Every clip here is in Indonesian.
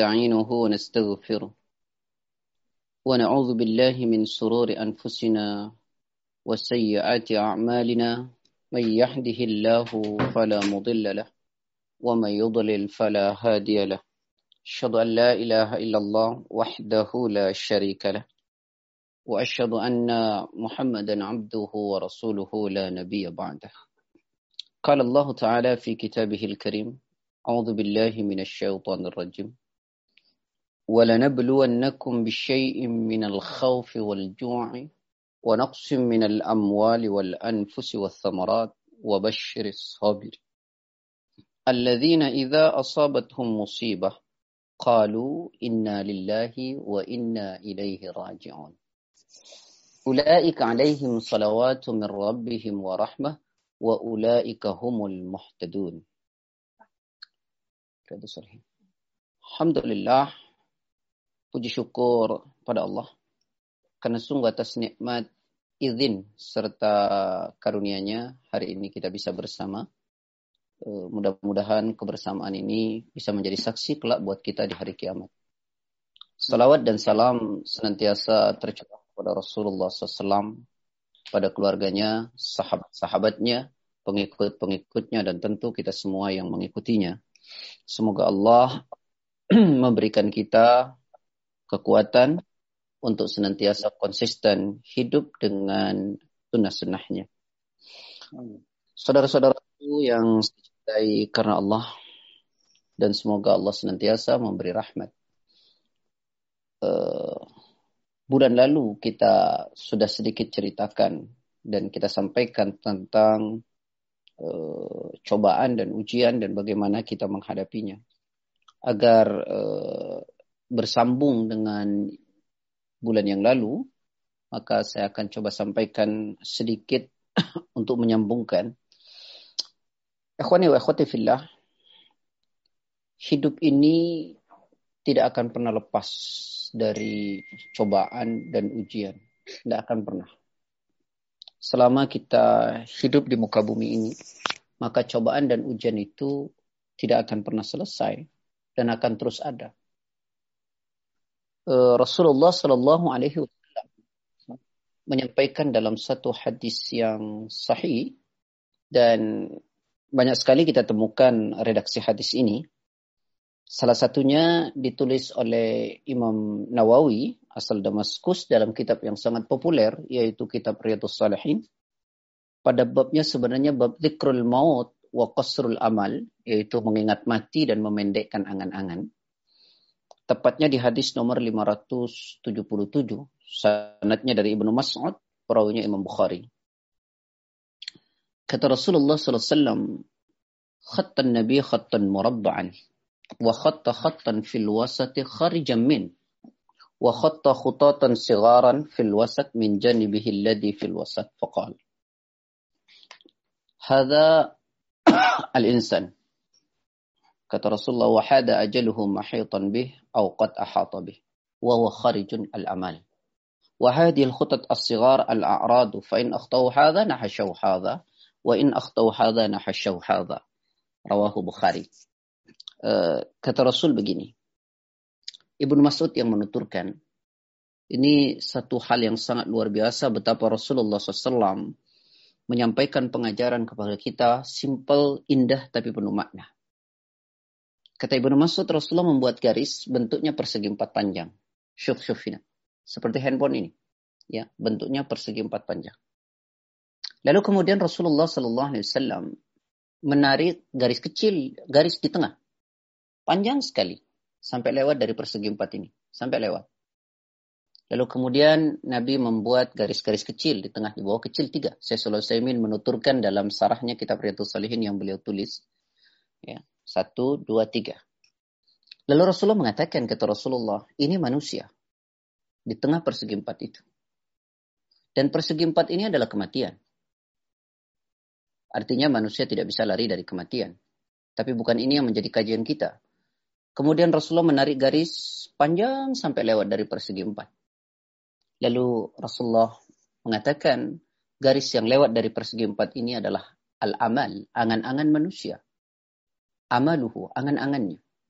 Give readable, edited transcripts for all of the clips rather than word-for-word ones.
ونستعينه ونستغفره ونعوذ بالله من شرور أنفسنا وسيئات أعمالنا من يهده الله فلا مضل له ومن يضلل فلا هادي له أشهد أن لا إله إلا الله وحده لا شريك له وأشهد أن محمدا عبده ورسوله لا نبي بعده قال الله تعالى في كتابه الكريم أعوذ بالله من الشيطان الرجيم ولنبلونكم بشيء من الخوف والجوع ونقص من الأموال والأنفس والثمرات وبشر الصابرين الذين إذا أصابتهم مصيبة قالوا إنا لله وإنا إليه راجعون أولئك عليهم صلوات من ربهم ورحمة وأولئك هم المهتدون. Alhamdulillah, puji syukur pada Allah karena sungguh atas nikmat, izin serta karunia-Nya hari ini kita bisa bersama. Mudah-mudahan kebersamaan ini bisa menjadi saksi kelak buat kita di hari kiamat. Salawat dan salam senantiasa tercurah kepada Rasulullah SAW, pada keluarganya, sahabat-sahabatnya, pengikut-pengikutnya, dan tentu kita semua yang mengikutinya. Semoga Allah memberikan kita kekuatan untuk senantiasa konsisten hidup dengan sunnah-sunnahnya. Saudara-saudaraku yang saya cintai karena Allah, dan semoga Allah senantiasa memberi rahmat. Bulan lalu kita sudah sedikit ceritakan dan kita sampaikan tentang cobaan dan ujian dan bagaimana kita menghadapinya. Agar bersambung dengan bulan yang lalu, maka saya akan coba sampaikan sedikit untuk menyambungkan. Ikhwani wa akhwati fillah, hidup ini tidak akan pernah lepas dari cobaan dan ujian. Tidak akan pernah. Selama kita hidup di muka bumi ini, maka cobaan dan ujian itu tidak akan pernah selesai dan akan terus ada. Rasulullah Shallallahu Alaihi Wasallam menyampaikan dalam satu hadis yang sahih, dan banyak sekali kita temukan redaksi hadis ini. Salah satunya ditulis oleh Imam Nawawi asal Damaskus dalam kitab yang sangat populer, yaitu kitab Riyadhus Shalihin. Pada babnya sebenarnya bab dzikrul maut wa qasrul amal, yaitu mengingat mati dan memendekkan angan-angan. Tepatnya di hadis nomor 577, sanadnya dari Ibnu Mas'ud, perawinya Imam Bukhari. Kata Rasulullah SAW, khattan Nabi khattan murabba'an, wa khatta khattan fil wasati kharijan min, wa khatta khutatan sigharan fil wasat min janibihi alladhi fil wasat, faqal hadha al-insan. Kata Rasulullah, wa hada ajaluhu mahitan bih aw qad ahata bih wa huwa kharijun al-amal. Wa hadhihi al-khutat as-sighar al-a'rad, fa in akhtaw hadha nahashaw hadha wa in akhtaw hadha nahashaw hadha. Rawahu Bukhari. Kata Rasul begini. Ibnu Mas'ud yang menuturkan, ini satu hal yang sangat luar biasa betapa Rasulullah SAW menyampaikan pengajaran kepada kita simple, indah, tapi penuh makna. Kata Ibnu Mas'ud, Rasulullah membuat garis bentuknya persegi empat panjang. Syuf-syufina. Seperti handphone ini. Ya, bentuknya persegi empat panjang. Lalu kemudian Rasulullah SAW menarik garis kecil, garis di tengah. Panjang sekali. Sampai lewat dari persegi empat ini. Sampai lewat. Lalu kemudian Nabi membuat garis-garis kecil di tengah, di bawah kecil 3. Syekh Shalih Utsaimin menuturkan dalam sarahnya kitab Riyadhus Shalihin yang beliau tulis. Ya, 1, 2, 3. Lalu Rasulullah mengatakan, kata Rasulullah, ini manusia. Di tengah persegi empat itu. Dan persegi empat ini adalah kematian. Artinya manusia tidak bisa lari dari kematian. Tapi bukan ini yang menjadi kajian kita. Kemudian Rasulullah menarik garis panjang sampai lewat dari persegi empat. Lalu Rasulullah mengatakan garis yang lewat dari persegi empat ini adalah al-amal, angan-angan manusia. Amaluhu, angan-angannya.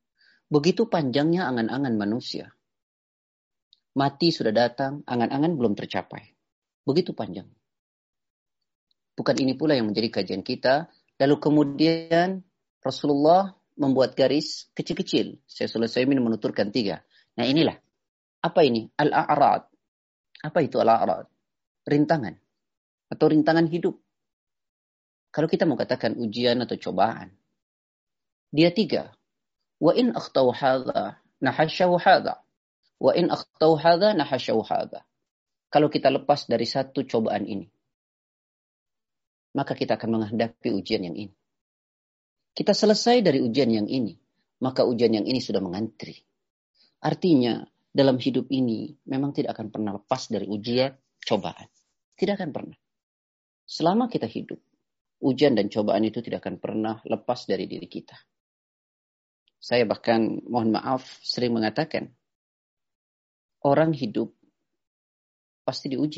Begitu panjangnya angan-angan manusia. Mati sudah datang, angan-angan belum tercapai. Begitu panjang. Bukan ini pula yang menjadi kajian kita. Lalu kemudian Rasulullah membuat garis kecil-kecil. Saya selesai menuturkan 3. Nah inilah. Apa ini? Al-a'rad. Apa itu al-a'rad? Rintangan. Atau rintangan hidup. Kalau kita mau katakan ujian atau cobaan. Dia 3. Wa in akhtau hadha nahasyahu hadha. Wa in akhtau hadha nahasyahu hadha. Kalau kita lepas dari satu cobaan ini, maka kita akan menghadapi ujian yang ini. Kita selesai dari ujian yang ini, maka ujian yang ini sudah mengantri. Artinya, dalam hidup ini memang tidak akan pernah lepas dari ujian, cobaan. Tidak akan pernah. Selama kita hidup, ujian dan cobaan itu tidak akan pernah lepas dari diri kita. Saya bahkan, mohon maaf, sering mengatakan, orang hidup pasti diuji.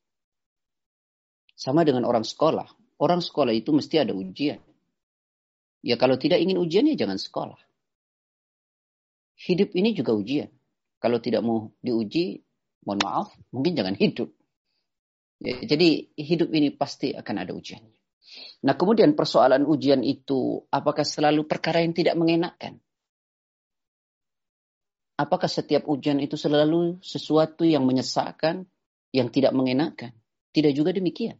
Sama dengan orang sekolah. Orang sekolah itu mesti ada ujian. Ya kalau tidak ingin ujian ya jangan sekolah. Hidup ini juga ujian. Kalau tidak mau diuji, mohon maaf, mungkin jangan hidup. Ya, jadi hidup ini pasti akan ada ujiannya. Nah kemudian persoalan ujian itu, apakah selalu perkara yang tidak mengenakan? Apakah setiap ujian itu selalu sesuatu yang menyesakkan, yang tidak mengenakan? Tidak juga demikian.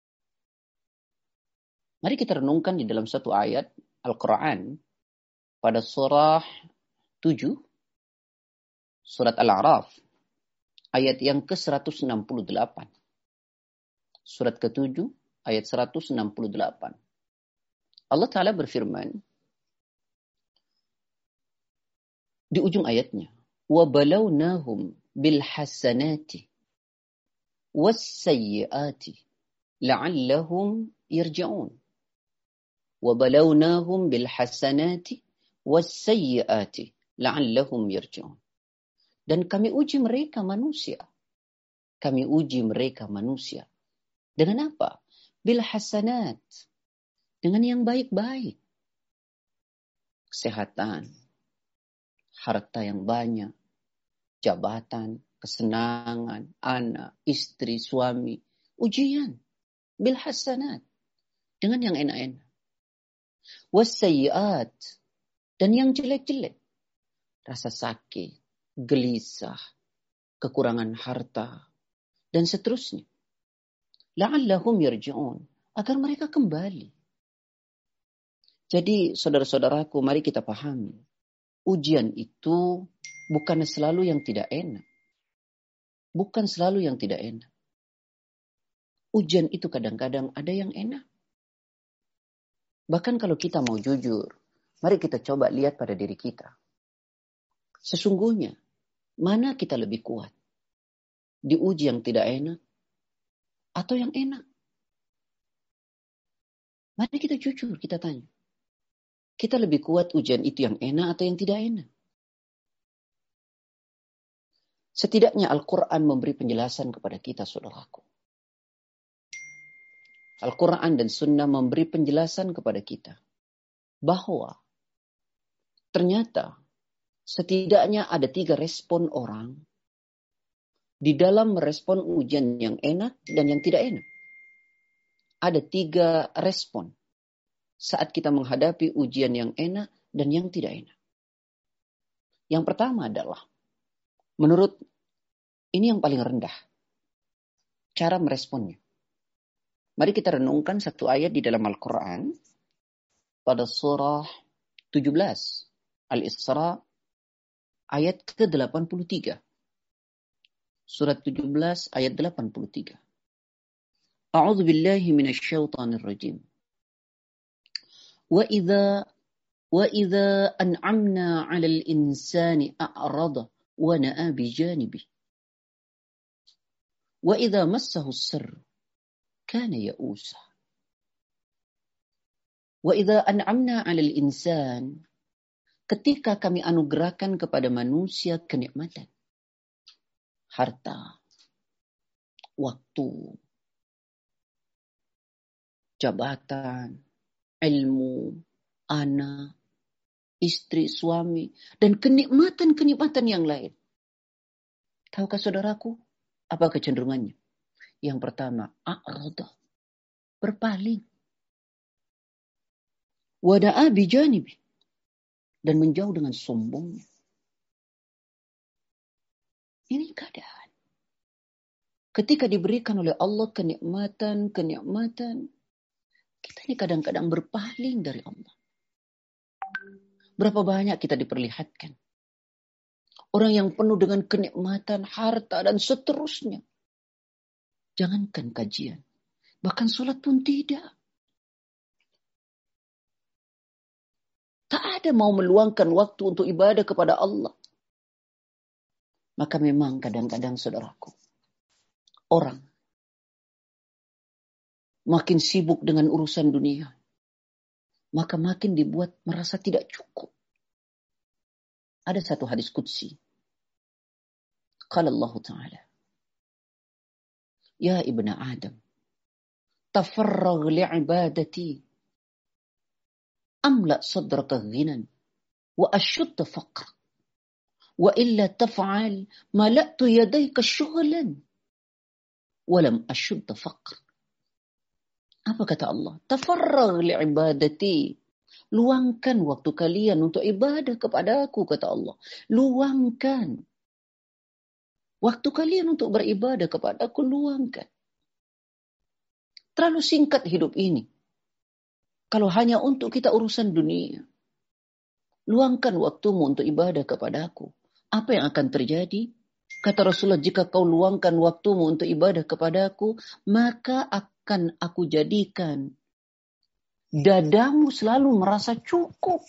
Mari kita renungkan di dalam satu ayat Al-Quran pada surah 7, surat Al-A'raf, ayat yang ke-168. Surat ke-7, ayat 168. Allah Ta'ala berfirman, di ujung ayatnya, وَبَلَوْنَاهُمْ بِالْحَسَنَاتِ وَالسَّيِّئَاتِ لَعَلَّهُمْ يَرْجِعُونَ وَبَلَوْنَاهُمْ بِالْحَسَنَاتِ وَالسَّيِّئَاتِ لَعَلَّهُمْ يَرْجِعُونَ. Dan kami uji mereka manusia. Kami uji mereka manusia. Dengan apa? Bil hasanat. Dengan yang baik-baik. Kesehatan. Harta yang banyak. Jabatan. Kesenangan. Anak. Istri. Suami. Ujian. Bil hasanat. Dengan yang enak-enak. Wassayiat. Dan yang jelek-jelek. Rasa sakit. Gelisah. Kekurangan harta. Dan seterusnya. La'allahum yarji'un. Agar mereka kembali. Jadi saudara-saudaraku, mari kita pahami. Ujian itu bukan selalu yang tidak enak. Bukan selalu yang tidak enak. Ujian itu kadang-kadang ada yang enak. Bahkan kalau kita mau jujur, mari kita coba lihat pada diri kita. Sesungguhnya, mana kita lebih kuat? Diuji yang tidak enak atau yang enak? Mari kita jujur, kita tanya. Kita lebih kuat ujian itu yang enak atau yang tidak enak? Setidaknya Al-Quran memberi penjelasan kepada kita, saudaraku. Al-Quran dan Sunnah memberi penjelasan kepada kita. Bahwa ternyata setidaknya ada 3 respon orang di dalam merespon ujian yang enak dan yang tidak enak. Ada 3 respon saat kita menghadapi ujian yang enak dan yang tidak enak. Yang pertama adalah, menurut ini yang paling rendah, cara meresponnya. Mari kita renungkan satu ayat di dalam Al-Quran pada surah 17 Al-Isra ayat ke-83. Surat 17 ayat 83. A'udzu billahi minasyaitonir rajim. وَإِذَا أَنْعَمْنَا عَلَى الْإِنْسَانِ أَعْرَضَ وَنَأَى بِجَانِبِهِ وَإِذَا مَسَّهُ الشَّرُّ كَانَ يَئُوسًا. وَإِذَا أَنْعَمْنَا عَلَى الْإِنْسَانِ, ketika kami anugerahkan kepada manusia kenikmatan, harta, waktu, jabatan, ilmu, anak, istri, suami, dan kenikmatan-kenikmatan yang lain. Tahukah saudaraku, apa kecenderungannya? Yang pertama, a'rada, berpaling. Wada'a bijanibi, dan menjauh dengan sombongnya. Ini keadaan. Ketika diberikan oleh Allah kenikmatan, kita ini kadang-kadang berpaling dari Allah. Berapa banyak kita diperlihatkan orang yang penuh dengan kenikmatan, harta, dan seterusnya. Jangankan kajian, bahkan sholat pun tidak. Tak ada mau meluangkan waktu untuk ibadah kepada Allah. Maka memang kadang-kadang saudaraku, orang makin sibuk dengan urusan dunia, maka makin dibuat merasa tidak cukup. Ada satu hadis qudsi. Qala Allah Ta'ala, Ya ibna Adam, tafarragh li'ibadati, amla sadraka ghinan, wa ashudda faqr, wa illa taf'al, mala'tu yadayka syughlan, walam ashudda faqr. Apa kata Allah? Tafarragh li'ibadati. Luangkan waktu kalian untuk ibadah kepadaku, kata Allah. Luangkan. Waktu kalian untuk beribadah kepadaku, luangkan. Terlalu singkat hidup ini. Kalau hanya untuk kita urusan dunia. Luangkan waktumu untuk ibadah kepadaku. Apa yang akan terjadi? Kata Rasulullah, jika kau luangkan waktumu untuk ibadah kepadaku, maka akan aku jadikan dadamu selalu merasa cukup.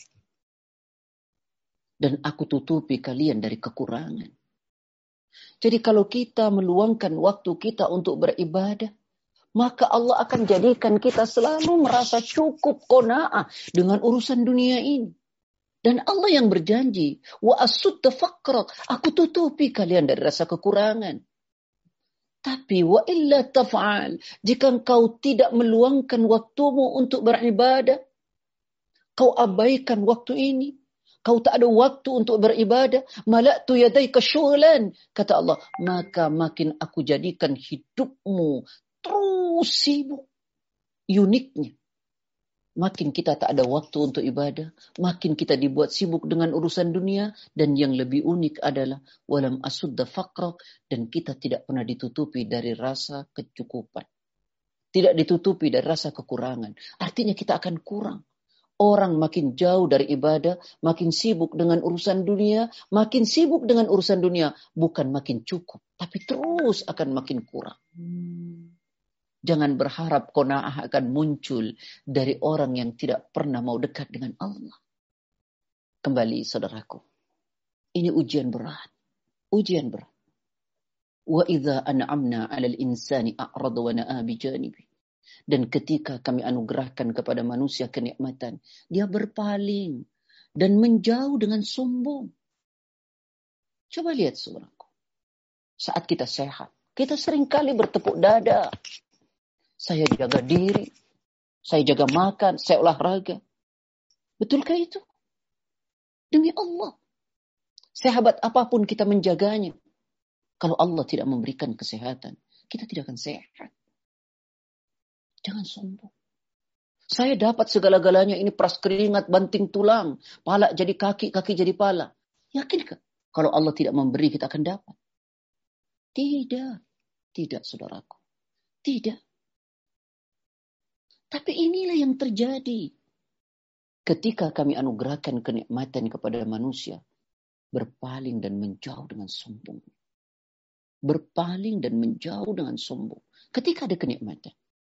Dan aku tutupi kalian dari kekurangan. Jadi kalau kita meluangkan waktu kita untuk beribadah, maka Allah akan jadikan kita selalu merasa cukup, qanaah dengan urusan dunia ini. Dan Allah yang berjanji, wa asudda faqra, aku tutupi kalian dari rasa kekurangan. Tapi wa illa taf'al, jika engkau tidak meluangkan waktumu untuk beribadah, kau abaikan waktu ini, kau tak ada waktu untuk beribadah, mala'tu yadayka syughlan, kata Allah, maka makin aku jadikan hidupmu terus sibuk. Uniknya, makin kita tak ada waktu untuk ibadah, makin kita dibuat sibuk dengan urusan dunia, dan yang lebih unik adalah walam asudda faqra, dan kita tidak pernah ditutupi dari rasa kecukupan. Tidak ditutupi dari rasa kekurangan. Artinya kita akan kurang. Orang makin jauh dari ibadah, makin sibuk dengan urusan dunia, makin sibuk dengan urusan dunia, bukan makin cukup, tapi terus akan makin kurang. Jangan berharap qanaah akan muncul dari orang yang tidak pernah mau dekat dengan Allah. Kembali saudaraku, ini ujian berat. Ujian berat. Wa idza an'amna 'alal insani a'rada wa na'a bijanibi. Dan ketika kami anugerahkan kepada manusia kenikmatan, dia berpaling dan menjauh dengan sombong. Coba lihat saudaraku. Saat kita sehat, kita seringkali bertepuk dada. Saya jaga diri, saya jaga makan, saya olahraga. Betulkah itu? Demi Allah. Sehebat apapun kita menjaganya, kalau Allah tidak memberikan kesehatan, kita tidak akan sehat. Jangan sombong. Saya dapat segala-galanya, ini peras keringat, banting tulang, pala jadi kaki, kaki jadi pala. Yakinkah? Kalau Allah tidak memberi, kita akan dapat? Tidak. Tidak, saudaraku. Tidak. Tapi inilah yang terjadi. Ketika kami anugerahkan kenikmatan kepada manusia, berpaling dan menjauh dengan sombong. Berpaling dan menjauh dengan sombong. Ketika ada kenikmatan.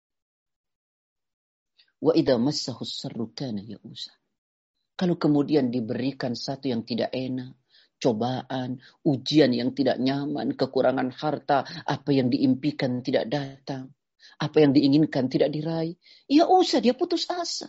Wa idza massahu sarru kana ya'usa. Kalau kemudian diberikan satu yang tidak enak, cobaan, ujian yang tidak nyaman, kekurangan harta, apa yang diimpikan tidak datang, apa yang diinginkan tidak diraih, ya usah dia putus asa.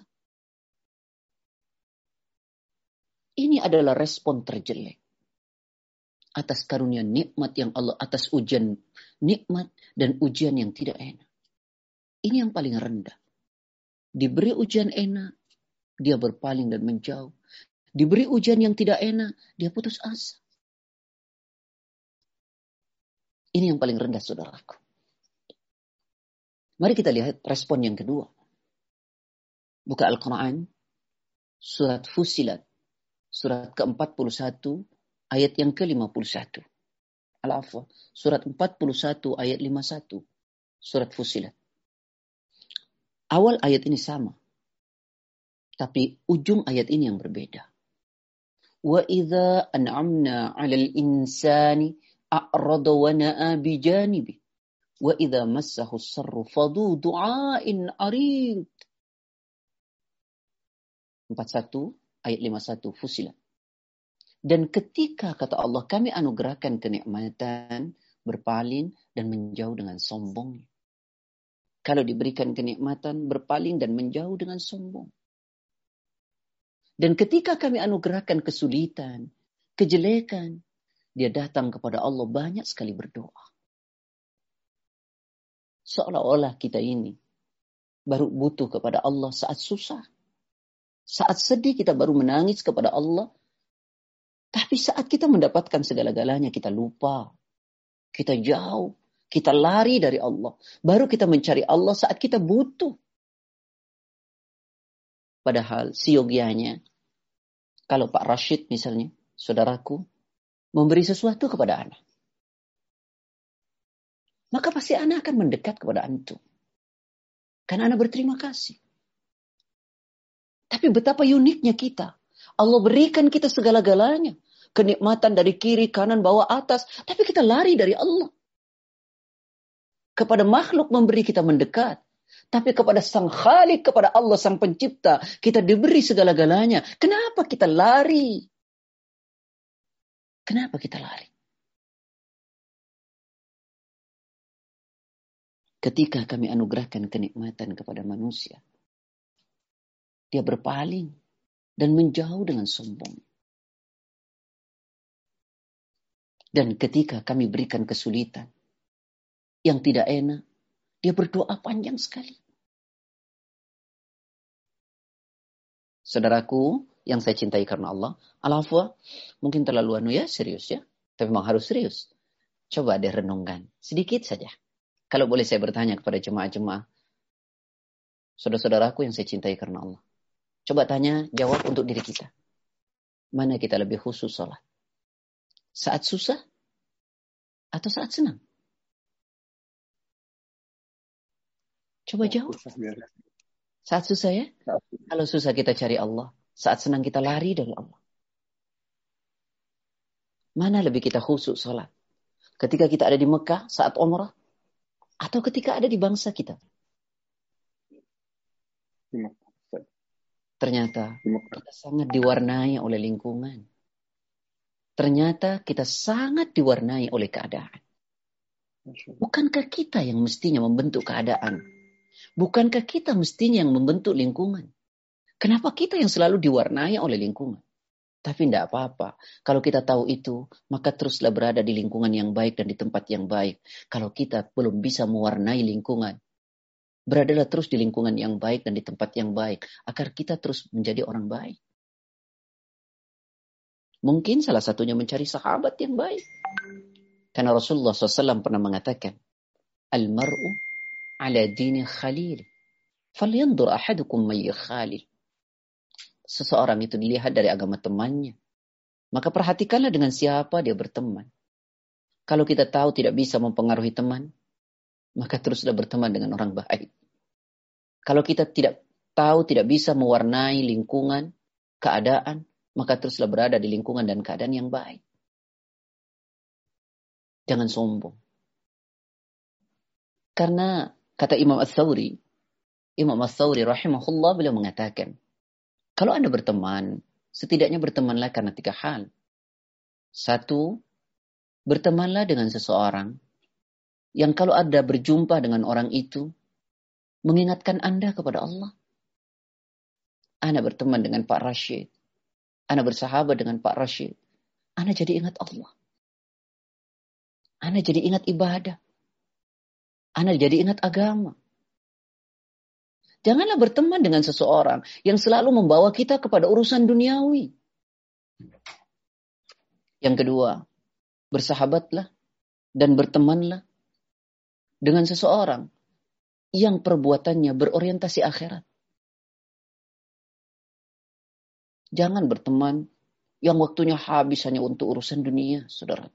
Ini adalah respon terjelek atas karunia nikmat yang Allah, atas ujian nikmat dan ujian yang tidak enak. Ini yang paling rendah. Diberi ujian enak, dia berpaling dan menjauh. Diberi ujian yang tidak enak, dia putus asa. Ini yang paling rendah, saudaraku. Mari kita lihat respon yang kedua. Buka Al-Quran, surat Fussilat, surat ke-41, ayat yang ke-51. Al-Afwa, surat 41, ayat 51. Surat Fussilat. Awal ayat ini sama. Tapi ujung ayat ini yang berbeda. وَإِذَا أَنْعَمْنَا عَلَى الْإِنسَانِ أَعْرَضَ وَنَأَى بِجَانِبِهِ وَإِذَا مَسَّهُ الشَّرُّ فَذُو دُعَاءٍ عَرِيضٍ. 41 ayat 51 Fussilat. Dan ketika kata Allah kami anugerahkan kenikmatan, berpaling dan menjauh dengan sombong. Kalau diberikan kenikmatan, berpaling dan menjauh dengan sombong. Dan ketika kami anugerahkan kesulitan, kejelekan, dia datang kepada Allah banyak sekali berdoa. Seolah-olah kita ini baru butuh kepada Allah saat susah. Saat sedih kita baru menangis kepada Allah. Tapi saat kita mendapatkan segala-galanya kita lupa. Kita jauh. Kita lari dari Allah. Baru kita mencari Allah saat kita butuh. Padahal siogianya, kalau Pak Rashid misalnya, saudaraku, memberi sesuatu kepada anak, maka pasti anak akan mendekat kepada antum. Karena anak berterima kasih. Tapi betapa uniknya kita. Allah berikan kita segala-galanya. Kenikmatan dari kiri, kanan, bawah, atas. Tapi kita lari dari Allah. Kepada makhluk memberi kita mendekat. Tapi kepada Sang Khalik, kepada Allah Sang Pencipta, kita diberi segala-galanya. Kenapa kita lari? Kenapa kita lari? Ketika kami anugerahkan kenikmatan kepada manusia, dia berpaling dan menjauh dengan sombong. Dan ketika kami berikan kesulitan yang tidak enak, dia berdoa panjang sekali. Saudaraku yang saya cintai karena Allah, Al-Afwa, mungkin terlalu serius ya. Tapi memang harus serius. Coba deh renungkan, sedikit saja. Kalau boleh saya bertanya kepada jemaah-jemaah, saudara-saudaraku yang saya cintai karena Allah. Coba tanya, jawab untuk diri kita. Mana kita lebih khusus sholat? Saat susah atau saat senang? Coba jawab. Saat susah ya? Kalau susah kita cari Allah. Saat senang kita lari dari Allah. Mana lebih kita khusus sholat? Ketika kita ada di Mekah saat umrah? Atau ketika ada di bangsa kita? Ternyata kita sangat diwarnai oleh lingkungan. Ternyata kita sangat diwarnai oleh keadaan. Bukankah kita yang mestinya membentuk keadaan? Bukankah kita mestinya yang membentuk lingkungan? Kenapa kita yang selalu diwarnai oleh lingkungan? Tapi tidak apa-apa. Kalau kita tahu itu, maka teruslah berada di lingkungan yang baik dan di tempat yang baik. Kalau kita belum bisa mewarnai lingkungan, beradalah terus di lingkungan yang baik dan di tempat yang baik. Agar kita terus menjadi orang baik. Mungkin salah satunya mencari sahabat yang baik. Karena Rasulullah SAW pernah mengatakan, Al-mar'u ala dini khalil. Falyandur ahadukum may khalil. Seseorang itu dilihat dari agama temannya. Maka perhatikanlah dengan siapa dia berteman. Kalau kita tahu tidak bisa mempengaruhi teman, maka teruslah berteman dengan orang baik. Kalau kita tidak tahu tidak bisa mewarnai lingkungan, keadaan, maka teruslah berada di lingkungan dan keadaan yang baik. Jangan sombong. Karena kata Imam Ats-Tsauri rahimahullah beliau mengatakan, kalau Anda berteman, setidaknya bertemanlah karena 3 hal. 1, bertemanlah dengan seseorang yang kalau Anda berjumpa dengan orang itu, mengingatkan Anda kepada Allah. Anda berteman dengan Pak Rashid. Anda bersahabat dengan Pak Rashid. Anda jadi ingat Allah. Anda jadi ingat ibadah. Anda jadi ingat agama. Janganlah berteman dengan seseorang yang selalu membawa kita kepada urusan duniawi. Yang kedua, bersahabatlah dan bertemanlah dengan seseorang yang perbuatannya berorientasi akhirat. Jangan berteman yang waktunya habis hanya untuk urusan dunia, saudaraku.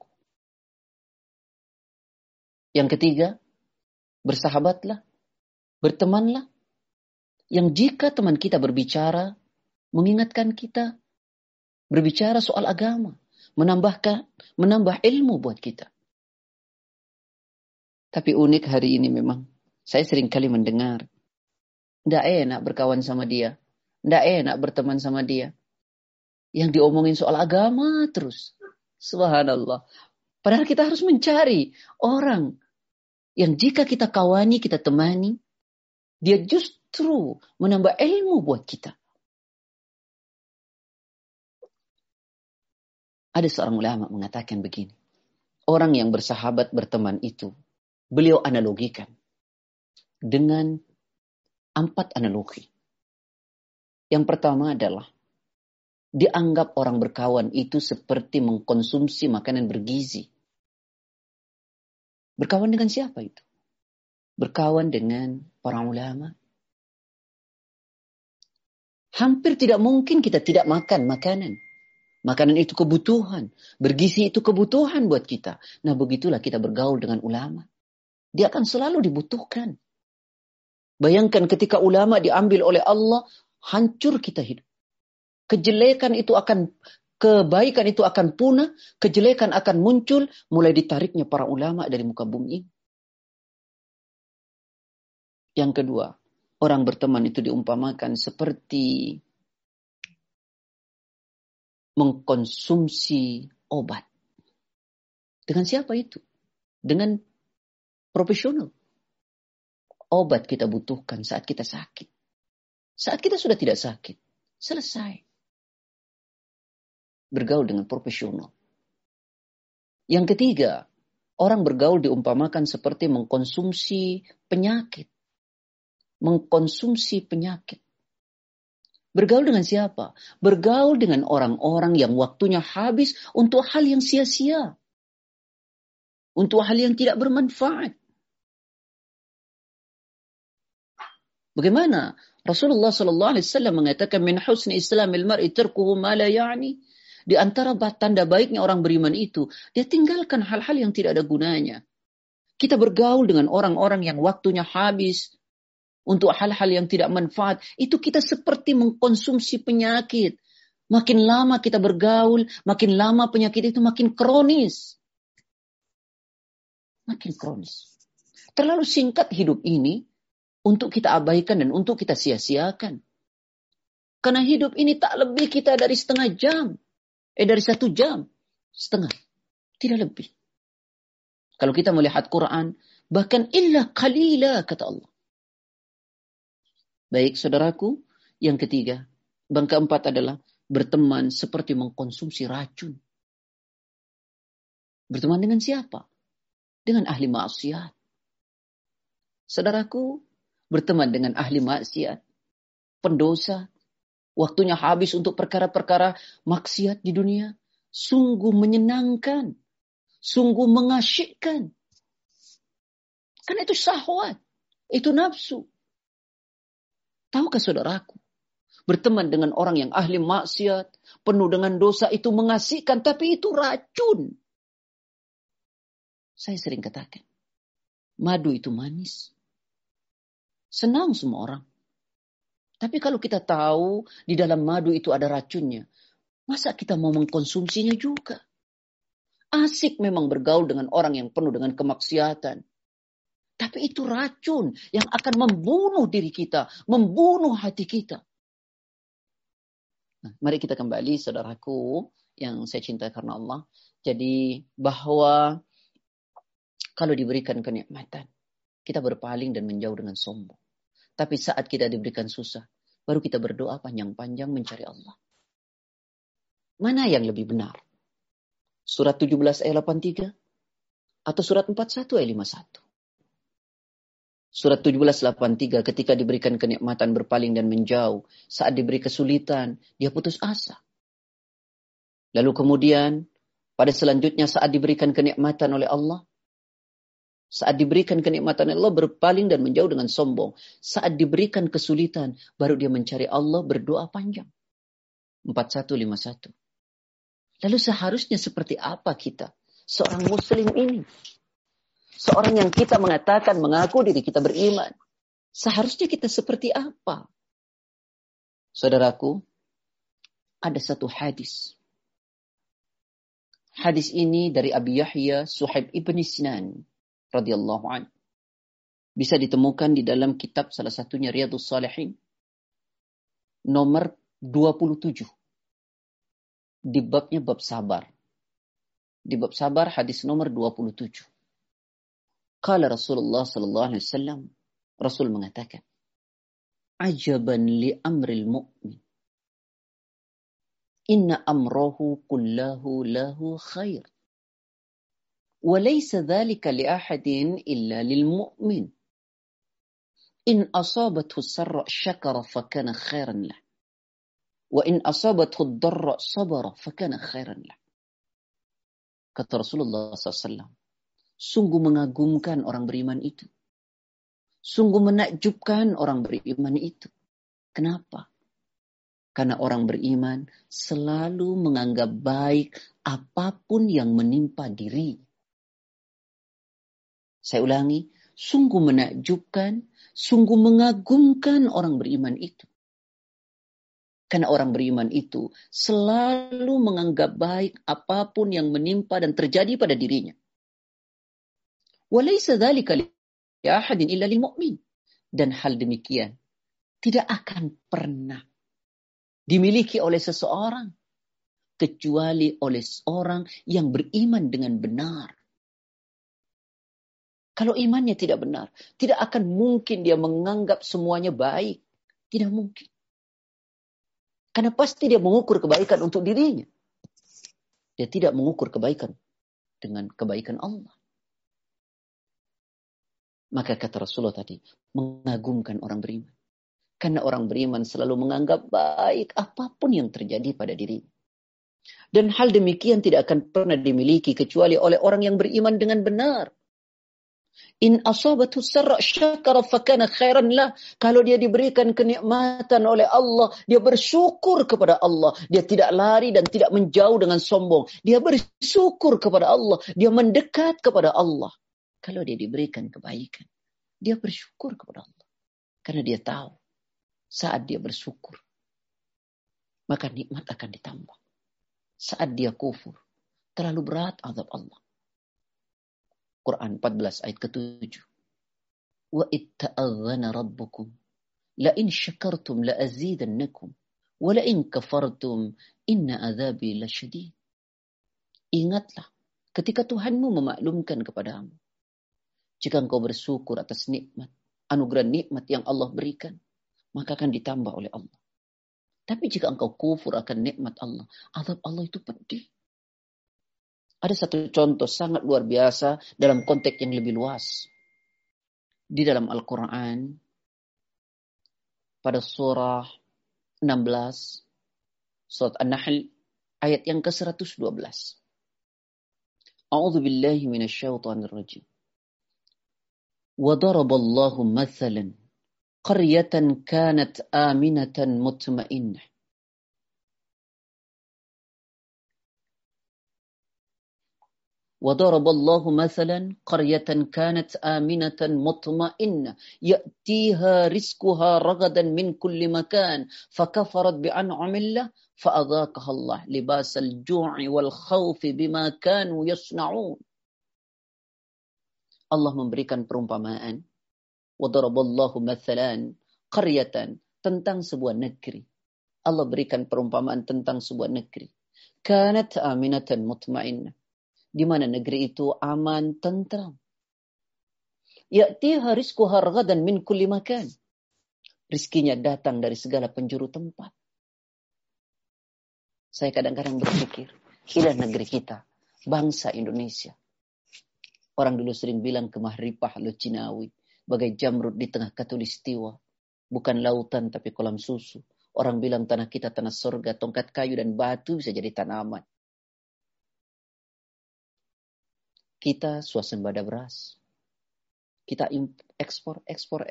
Yang ketiga, bersahabatlah, bertemanlah yang jika teman kita berbicara, mengingatkan kita, berbicara soal agama, menambah ilmu buat kita. Tapi unik hari ini memang, saya sering kali mendengar, tidak enak berkawan sama dia, tidak enak berteman sama dia. Yang diomongin soal agama terus. Subhanallah. Padahal kita harus mencari orang yang jika kita kawani, kita temani, dia justru menambah ilmu buat kita. Ada seorang ulama mengatakan begini. Orang yang bersahabat, berteman itu, beliau analogikan dengan 4 analogi. Yang pertama adalah, dianggap orang berkawan itu seperti mengkonsumsi makanan bergizi. Berkawan dengan siapa itu? Berkawan dengan para ulama. Hampir tidak mungkin kita tidak makan makanan. Makanan itu kebutuhan. Bergizi itu kebutuhan buat kita. Nah, begitulah kita bergaul dengan ulama. Dia akan selalu dibutuhkan. Bayangkan ketika ulama diambil oleh Allah, hancur kita hidup. Kebaikan itu akan punah, kejelekan akan muncul, mulai ditariknya para ulama dari muka bumi. Yang kedua, orang berteman itu diumpamakan seperti mengkonsumsi obat. Dengan siapa itu? Dengan profesional. Obat kita butuhkan saat kita sakit. Saat kita sudah tidak sakit, selesai. Bergaul dengan profesional. Yang ketiga, orang bergaul diumpamakan seperti mengkonsumsi penyakit. Mengkonsumsi penyakit. Bergaul dengan siapa? Bergaul dengan orang-orang yang waktunya habis untuk hal yang sia-sia. Untuk hal yang tidak bermanfaat. Bagaimana? Rasulullah SAW mengatakan, min husni islamil mar'i tarkuhu ma la ya'ni. Di antara tanda baiknya orang beriman itu, dia tinggalkan hal-hal yang tidak ada gunanya. Kita bergaul dengan orang-orang yang waktunya habis untuk hal-hal yang tidak manfaat. Itu kita seperti mengkonsumsi penyakit. Makin lama kita bergaul, makin lama penyakit itu makin kronis. Makin kronis. Terlalu singkat hidup ini untuk kita abaikan dan untuk kita sia-siakan. Karena hidup ini tak lebih kita dari setengah jam. Dari 1 jam. Setengah. Tidak lebih. Kalau kita melihat Quran, bahkan illa qalila, kata Allah. Baik, saudaraku. Yang ketiga, bang keempat adalah berteman seperti mengkonsumsi racun. Berteman dengan siapa? Dengan ahli maksiat. Saudaraku, berteman dengan ahli maksiat, pendosa, waktunya habis untuk perkara-perkara maksiat di dunia, sungguh menyenangkan, sungguh mengasyikkan. Karena itu syahwat, itu nafsu. Tahukah saudaraku, berteman dengan orang yang ahli maksiat, penuh dengan dosa itu mengasihkan, tapi itu racun. Saya sering katakan, madu itu manis. Senang semua orang. Tapi kalau kita tahu di dalam madu itu ada racunnya, masa kita mau mengkonsumsinya juga? Asik memang bergaul dengan orang yang penuh dengan kemaksiatan. Tapi itu racun yang akan membunuh diri kita, membunuh hati kita. Nah, mari kita kembali, saudaraku, yang saya cintai karena Allah. Jadi bahwa kalau diberikan kenikmatan, kita berpaling dan menjauh dengan sombong. Tapi saat kita diberikan susah, baru kita berdoa panjang-panjang mencari Allah. Mana yang lebih benar? Surat 17 ayat 83 atau surat 41 ayat 51? Surat 17 83 ketika diberikan kenikmatan berpaling dan menjauh. Saat diberi kesulitan, dia putus asa. Lalu kemudian Pada selanjutnya saat diberikan kenikmatan oleh Allah, saat diberikan kenikmatan Allah berpaling dan menjauh dengan sombong. Saat diberikan kesulitan, baru dia mencari Allah, berdoa panjang. 4151. Lalu seharusnya seperti apa kita? Seorang muslim ini. Seorang yang kita mengatakan, mengaku diri kita beriman. Seharusnya kita seperti apa? Saudaraku, ada satu hadis. Hadis ini dari Abi Yahya Suhaib ibn Sinan radhiyallahu anhu. Bisa ditemukan di dalam kitab salah satunya Riyadhus Shalihin nomor 27. Di babnya bab sabar. Di bab sabar hadis nomor 27. Qala Rasulullah sallallahu alaihi wasallam, Rasul mengatakan, "Ajaban li amril mu'min. Inna amrahu kullahu lahu khair. وليس ذلك لأحد إلا للمؤمن إن أصابته السراء شكر فكان خيرا له وإن أصابته الضراء صبر فكان خيرا له." Kata Rasulullah SAW, sungguh mengagumkan orang beriman itu. Sungguh menakjubkan orang beriman itu. Kenapa? Karena orang beriman selalu menganggap baik apapun yang menimpa diri. Saya ulangi, sungguh menakjubkan, sungguh mengagumkan orang beriman itu. Karena orang beriman itu selalu menganggap baik apapun yang menimpa dan terjadi pada dirinya. Walaysa dzalika li ahadin illa lil mu'min. Dan hal demikian tidak akan pernah dimiliki oleh seseorang kecuali oleh seorang yang beriman dengan benar. Kalau imannya tidak benar, tidak akan mungkin dia menganggap semuanya baik. Tidak mungkin. Karena pasti dia mengukur kebaikan untuk dirinya. Dia tidak mengukur kebaikan dengan kebaikan Allah. Maka kata Rasulullah tadi, mengagumkan orang beriman. Karena orang beriman selalu menganggap baik apapun yang terjadi pada dirinya. Dan hal demikian tidak akan pernah dimiliki kecuali oleh orang yang beriman dengan benar. In asabathu sarra syakara fakana khairan lah. Kalau dia diberikan kenikmatan oleh Allah, dia bersyukur kepada Allah. Dia tidak lari dan tidak menjauh dengan sombong. Dia bersyukur kepada Allah. Dia mendekat kepada Allah. Kalau dia diberikan kebaikan, dia bersyukur kepada Allah. Karena dia tahu saat dia bersyukur, maka nikmat akan ditambah. Saat dia kufur, terlalu berat azab Allah. Quran 14 ayat ke-7. Wa itta'adhana rabbukum la in syakartum la azidannakum wa la in kafartum inna adzabi lasyadid. Ingatlah ketika Tuhanmu memaklumkan kepadamu, jika engkau bersyukur atas nikmat, anugerah nikmat yang Allah berikan, maka akan ditambah oleh Allah. Tapi jika engkau kufur akan nikmat Allah, azab Allah itu pedih. Ada satu contoh sangat luar biasa dalam konteks yang lebih luas. Di dalam Al-Quran, pada surah 16, surat An-Nahl, ayat yang ke-112. A'udzu billahi minasyaitonir rajim. Wa daraballahu mathalan qaryatan kanat aminatan mutmainnah. وضرب الله مثلا قرية كانت آمنة مطمئنة يأتيها رزقها رغدا من كل مكان فكفرت بأنعم الله فأذاقها الله لباس الجوع والخوف بما كانوا يصنعون. Allah memberikan perumpamaan. وضرب الله مثلا قرية, tentang sebuah negeri. Allah berikan perumpamaan tentang sebuah negeri. كانت آمنة مطمئنة, di mana negeri itu aman, tentram. Ya'tiha rizquha ragadan min kulli makan. Rizkinya datang dari segala penjuru tempat. Saya kadang-kadang berpikir, inilah negeri kita, bangsa Indonesia. Orang dulu sering bilang kemah ripah lo Cinawi, bagai jamrud di tengah khatulistiwa. Bukan lautan tapi kolam susu. Orang bilang tanah kita tanah surga, tongkat kayu dan batu bisa jadi tanaman. Kita swasembada beras. Kita ekspor.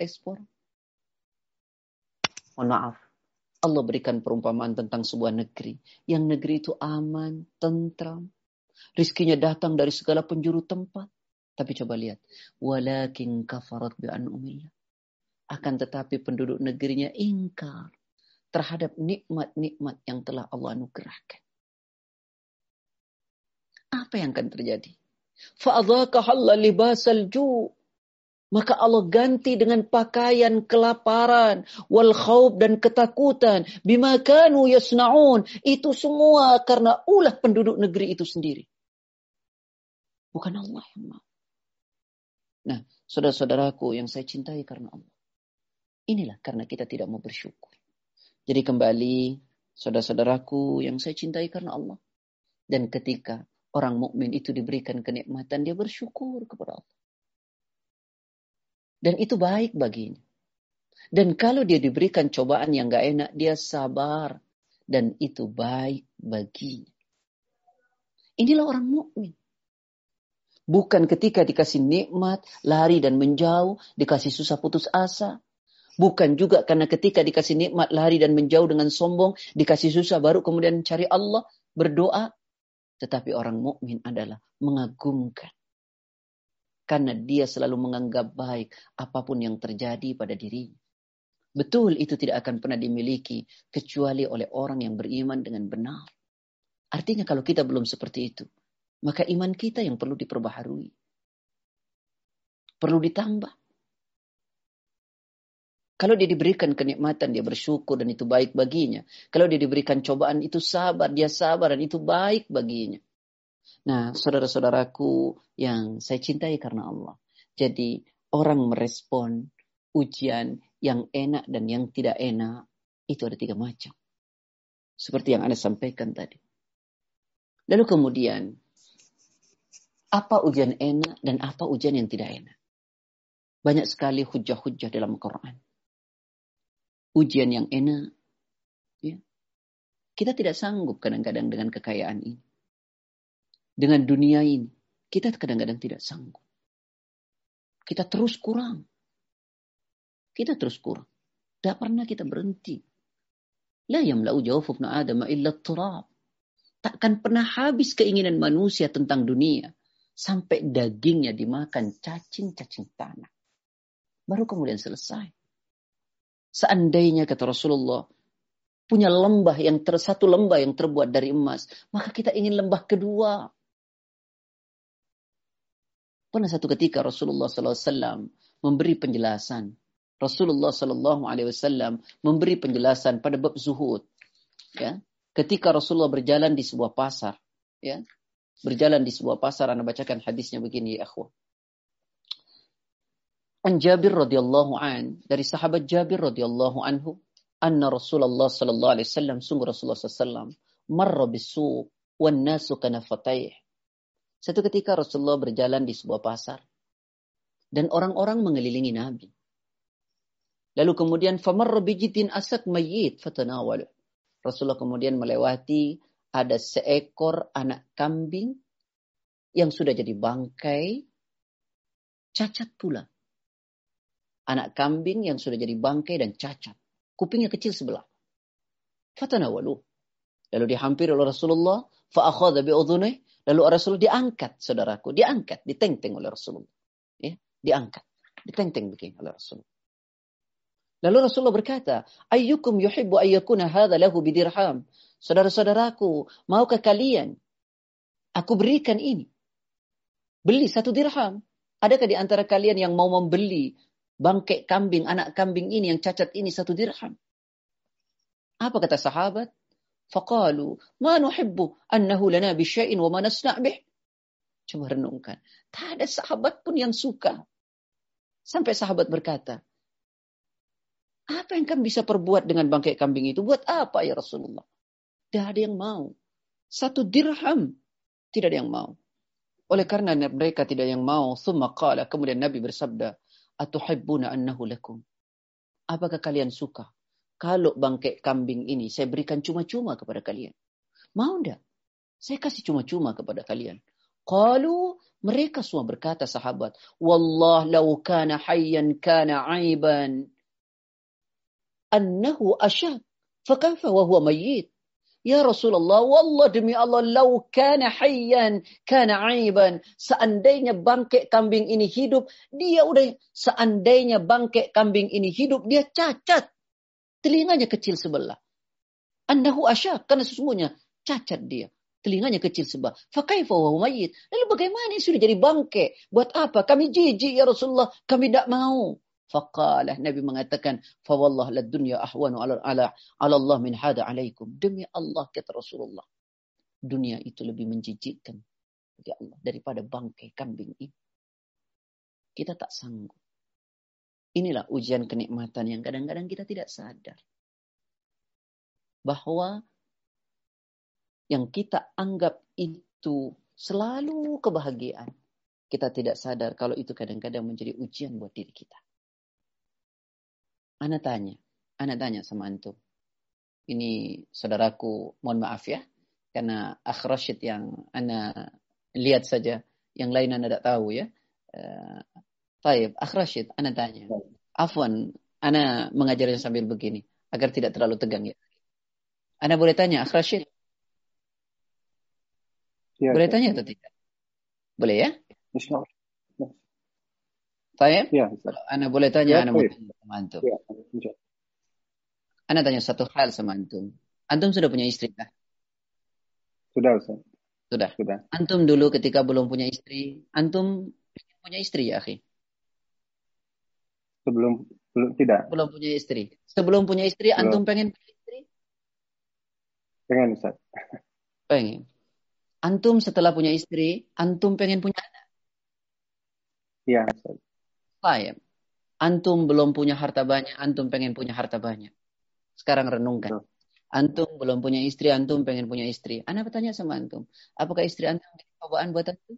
Mohon maaf. Allah berikan perumpamaan tentang sebuah negeri. Yang negeri itu aman, tentram. Rizkinya datang dari segala penjuru tempat. Tapi coba lihat. Walakin kafarat bi'an'umillah. Akan tetapi penduduk negerinya ingkar terhadap nikmat-nikmat yang telah Allah anugerahkan. Apa yang akan terjadi? Fa'adhaqahalla libasal ju'. Maka Allah ganti dengan pakaian kelaparan, wal khauf dan ketakutan, bima kanu yasnaun. Itu semua karena ulah penduduk negeri itu sendiri. Bukan Allah yang mau. Nah, saudara-saudaraku yang saya cintai karena Allah. Inilah karena kita tidak mau bersyukur. Jadi kembali, saudara-saudaraku yang saya cintai karena Allah. Dan ketika orang mukmin itu diberikan kenikmatan, dia bersyukur kepada Allah. Dan itu baik baginya. Dan kalau dia diberikan cobaan yang gak enak, dia sabar. Dan itu baik baginya. Inilah orang mukmin. Bukan ketika dikasih nikmat, lari dan menjauh, dikasih susah putus asa. Bukan juga karena ketika dikasih nikmat, lari dan menjauh dengan sombong, dikasih susah baru kemudian cari Allah, berdoa. Tetapi orang mukmin adalah mengagumkan. Karena dia selalu menganggap baik apapun yang terjadi pada dirinya. Betul itu tidak akan pernah dimiliki kecuali oleh orang yang beriman dengan benar. Artinya kalau kita belum seperti itu, maka iman kita yang perlu diperbaharui. Perlu ditambah. Kalau dia diberikan kenikmatan, dia bersyukur dan itu baik baginya. Kalau dia diberikan cobaan, itu sabar, dia sabar dan itu baik baginya. Nah, saudara-saudaraku yang saya cintai karena Allah. Jadi, orang merespon ujian yang enak dan yang tidak enak, itu ada 3 macam. Seperti yang Anda sampaikan tadi. Lalu kemudian, apa ujian enak dan apa ujian yang tidak enak? Banyak sekali hujah-hujah dalam Quran. Ujian yang enak, ya. Kita tidak sanggup kadang-kadang dengan kekayaan ini. Dengan dunia ini, kita kadang-kadang tidak sanggup. Kita terus kurang. Tidak pernah kita berhenti. La yamla'u jawfu ibn Adam illa turab. Takkan pernah habis keinginan manusia tentang dunia. Sampai dagingnya dimakan cacing-cacing tanah. Baru kemudian selesai. Seandainya kata Rasulullah, punya satu lembah yang terbuat dari emas. Maka kita ingin lembah kedua. Pernah satu ketika Rasulullah SAW memberi penjelasan. Rasulullah SAW memberi penjelasan pada bab zuhud. Ya. Ketika Rasulullah berjalan di sebuah pasar. Ya. Berjalan di sebuah pasar. Anda bacakan hadisnya begini ya akhwah. An Jabir radhiyallahu an. Dari sahabat Jabir radhiyallahu anhu. Anna Rasulullah SAW. Sungguh Rasulullah SAW. Marra bisuq. Wan nasu kanafatayh. Satu ketika Rasulullah berjalan di sebuah pasar. Dan orang-orang mengelilingi Nabi. Lalu kemudian famarra bijidin asak mayyit fatanawalu. Rasulullah kemudian melewati ada seekor anak kambing yang sudah jadi bangkai, cacat pula. Anak kambing yang sudah jadi bangkai dan cacat. Kupingnya kecil sebelah. Fatanawalu. Lalu dihampiri oleh Rasulullah. Fa'akhadha bi'udhunih. Lalu Rasulullah diangkat, saudaraku. Diangkat, diteng-teng oleh Rasulullah. Ya, diangkat. Diteng-teng begini oleh Rasulullah. Lalu Rasulullah berkata, ayyukum yuhibbu ayyakuna hadha lahu bidirham. Saudara-saudaraku, maukah kalian aku berikan ini? Beli 1 dirham. Adakah di antara kalian yang mau membeli bangkai kambing, anak kambing ini yang cacat ini 1 dirham? Apa kata sahabat? Faqalu, ma nuhibbu annahu lana bisyai'in wa ma nasna' bih. Coba renungkan. Tak ada sahabat pun yang suka. Sampai sahabat berkata, apa yang kami bisa perbuat dengan bangkai kambing itu? Buat apa ya Rasulullah? Tidak ada yang mau. 1 dirham. Tidak ada yang mau. Oleh karena mereka tidak yang mau, thumma qala, kemudian Nabi bersabda, atuhibbuna annahu lakum. Apakah kalian suka kalau bangkai kambing ini saya berikan cuma-cuma kepada kalian? Mau enggak? Saya kasih cuma-cuma kepada kalian. Qalu, mereka semua berkata sahabat, wallah law kana hayyan kana aiban annahu asyad. Fakaifa wa huwa mayyit? Ya Rasulullah, wallah demi Allah, law kana hayyan kana aiban. Seandainya bangkai kambing ini hidup, seandainya bangkai kambing ini hidup, dia cacat. Telinganya kecil sebelah. Annahu asyad, karena sesungguhnya cacat dia. Telinganya kecil sebelah. Fakaifa wa huwa mayyit. Lalu bagaimana ini sudah jadi bangkai? Buat apa? Kami jijik ya Rasulullah, kami tidak mau. Faqalah, Nabi mengatakan, fawallah lad dunya ahwanu ala Allah min hada alaikum. Demi Allah, kata Rasulullah, dunia itu lebih menjijikkan bagi Allah daripada bangkai kambing ini. Kita tak sanggup. Inilah ujian kenikmatan yang kadang-kadang kita tidak sadar. Bahwa yang kita anggap itu selalu kebahagiaan. Kita tidak sadar kalau itu kadang-kadang menjadi ujian buat diri kita. Ana tanya sama antum. Ini saudaraku, mohon maaf ya, karena Akh Rashid yang ana lihat saja, yang lain ana tidak tahu ya. Taib, Akh Rashid, ana tanya. Afwan, ana mengajarnya sambil begini, agar tidak terlalu tegang ya. Ana boleh tanya, Akh Rashid? Ya, boleh tanya atau tidak? Boleh ya? Insyaallah. Taib? Ya, ana boleh tanya, ya, ana mau tanya sama antum. Ya, Ana tanya satu hal sama antum. Antum sudah punya istri kah? Sudah, Ustaz. Sudah. Sudah. Antum dulu ketika belum punya istri, antum punya istri ya, akhi? Belum tidak. Belum punya istri. Sebelum punya istri, Belum. antum pengen punya istri? Pengen, Ustaz. Pengen. Antum setelah punya istri, antum pengen punya anak? Iya, Ustaz. Baik. Antum belum punya harta banyak, antum pengen punya harta banyak. Sekarang renungkan. Antum belum punya istri, antum pengen punya istri. Ana bertanya sama antum, apakah istri antum jadi cobaan buat antum?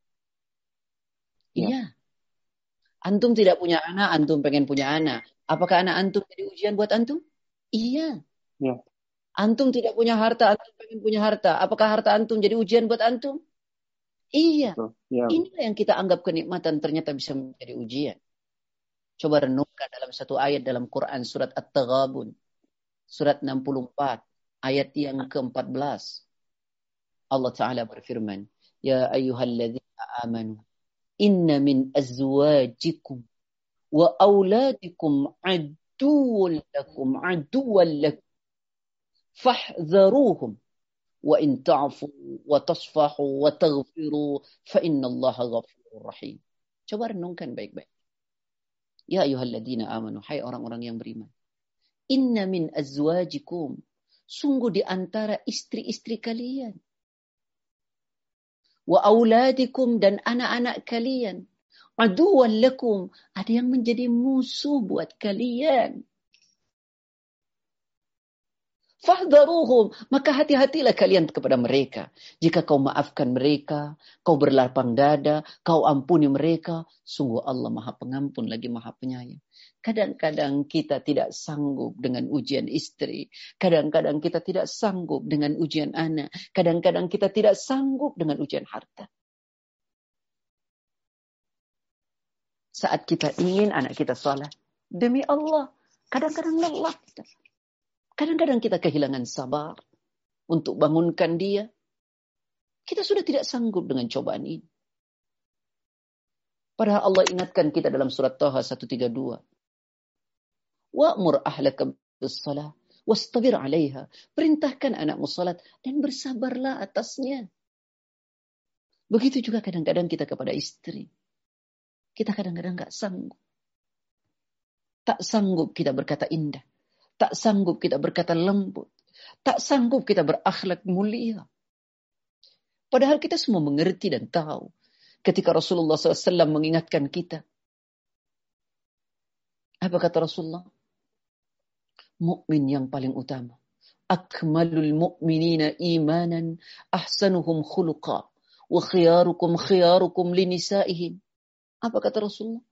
Ya. Iya. Antum tidak punya anak, antum pengen punya anak. Apakah anak antum jadi ujian buat antum? Iya. Ya. Antum tidak punya harta, antum pengen punya harta. Apakah harta antum jadi ujian buat antum? Iya. Ya. Inilah yang kita anggap kenikmatan ternyata bisa menjadi ujian. Coba renungkan dalam satu ayat dalam Quran surat At-Taghabun. Surat 64. Ayat yang ke-14. Allah Ta'ala berfirman. Ya ayyuhalladzina amanu. Inna min azwajikum wa awladikum aduwwan lakum. Fahdharuhum. Wa in ta'fu wa tasfahu wa taghfiru fa innallaha ghafurur rahim. Coba renungkan baik-baik. Ya ayyuhalladzina amanu, hai orang-orang yang beriman. Inna min azwajikum, sungguh di antara istri-istri kalian. Wa auladikum, dan anak-anak kalian. Aduwwan lakum, ada yang menjadi musuh buat kalian. Fahdharuhum, maka hati-hatilah kalian kepada mereka. Jika kau maafkan mereka, kau berlapang dada, kau ampuni mereka, sungguh Allah Maha Pengampun lagi Maha Penyayang. Kadang-kadang kita tidak sanggup dengan ujian istri. Kadang-kadang kita tidak sanggup dengan ujian anak. Kadang-kadang kita tidak sanggup dengan ujian harta. Saat kita ingin anak kita salat, demi Allah, kadang-kadang lelah kita. Kadang-kadang kita kehilangan sabar untuk bangunkan dia. Kita sudah tidak sanggup dengan cobaan ini. Padahal Allah ingatkan kita dalam surat Taha 132. Wa'mur ahlaka bis-shalah wastabir 'alaiha. Perintahkan anakmu salat dan bersabarlah atasnya. Begitu juga kadang-kadang kita kepada istri. Kita kadang-kadang enggak sanggup. Tak sanggup kita berkata indah. Tak sanggup kita berkata lembut. Tak sanggup kita berakhlak mulia. Padahal kita semua mengerti dan tahu. Ketika Rasulullah SAW mengingatkan kita. Apa kata Rasulullah? Mukmin yang paling utama. Akmalul mu'minina imanan ahsanuhum khuluqa. Wa khiyarukum linisaihim. Apa kata Rasulullah?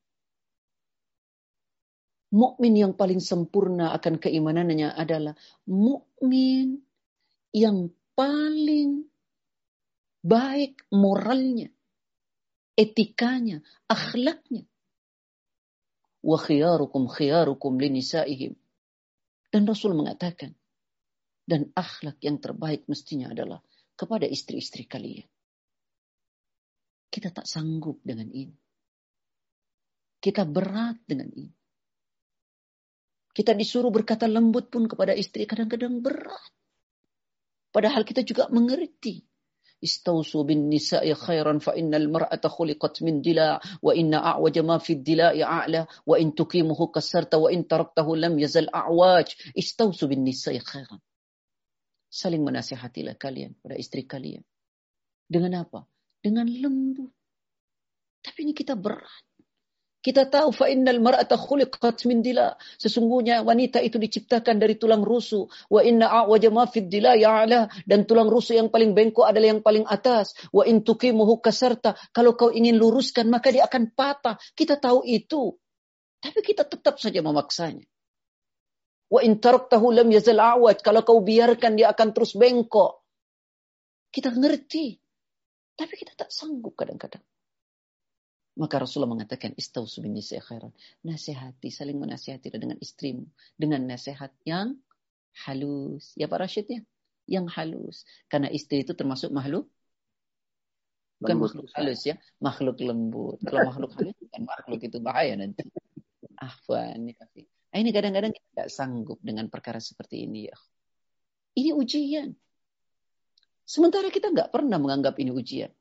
Mukmin yang paling sempurna akan keimanannya adalah mukmin yang paling baik moralnya, etikanya, akhlaknya. Wa khiyarukum linisaihim. Dan Rasul mengatakan, dan akhlak yang terbaik mestinya adalah kepada istri-istri kalian. Kita tak sanggup dengan ini. Kita berat dengan ini. Kita disuruh berkata lembut pun kepada istri kadang-kadang berat. Padahal kita juga mengerti. Istausu bin nisa'i khairan fa innal mar'ata khuliqat min dila' wa inna a'waja ma fi dila'i a'la wa in tuqimuhu kasarta wa in taraktahu lam yazal a'waj. Istausu bin nisa'i khairan. Saling menasihatilah kalian pada istri kalian. Dengan apa? Dengan lembut. Tapi ini kita berat. Kita tahu fa innal mar'ata khuliqat min dila. Sesungguhnya wanita itu diciptakan dari tulang rusuk. Wa inna a'waja ma fid dila ya'la. Dan tulang rusuk yang paling bengkok adalah yang paling atas. Wa in tuqimuhu kasarta. Kalau kau ingin luruskan maka dia akan patah. Kita tahu itu. Tapi kita tetap saja memaksanya. Wa in taraktahu lam yazal a'waj. Kalau kau biarkan dia akan terus bengkok. Kita ngerti. Tapi kita tak sanggup kadang-kadang. Maka Rasulullah mengatakan istausu bin nisa'i khairan. Nasihati, saling menasihati dengan istrimu dengan nasihat yang halus. Ya Pak Rashid ya? Yang halus. Karena istri itu termasuk makhluk bukan lembut, makhluk halus ya, makhluk lembut. Kalau makhluk halus bukan makhluk, itu bahaya nanti. Afwan ya. Ini kadang-kadang kita tidak sanggup dengan perkara seperti ini ya. Ini ujian. Sementara kita nggak pernah menganggap ini ujian.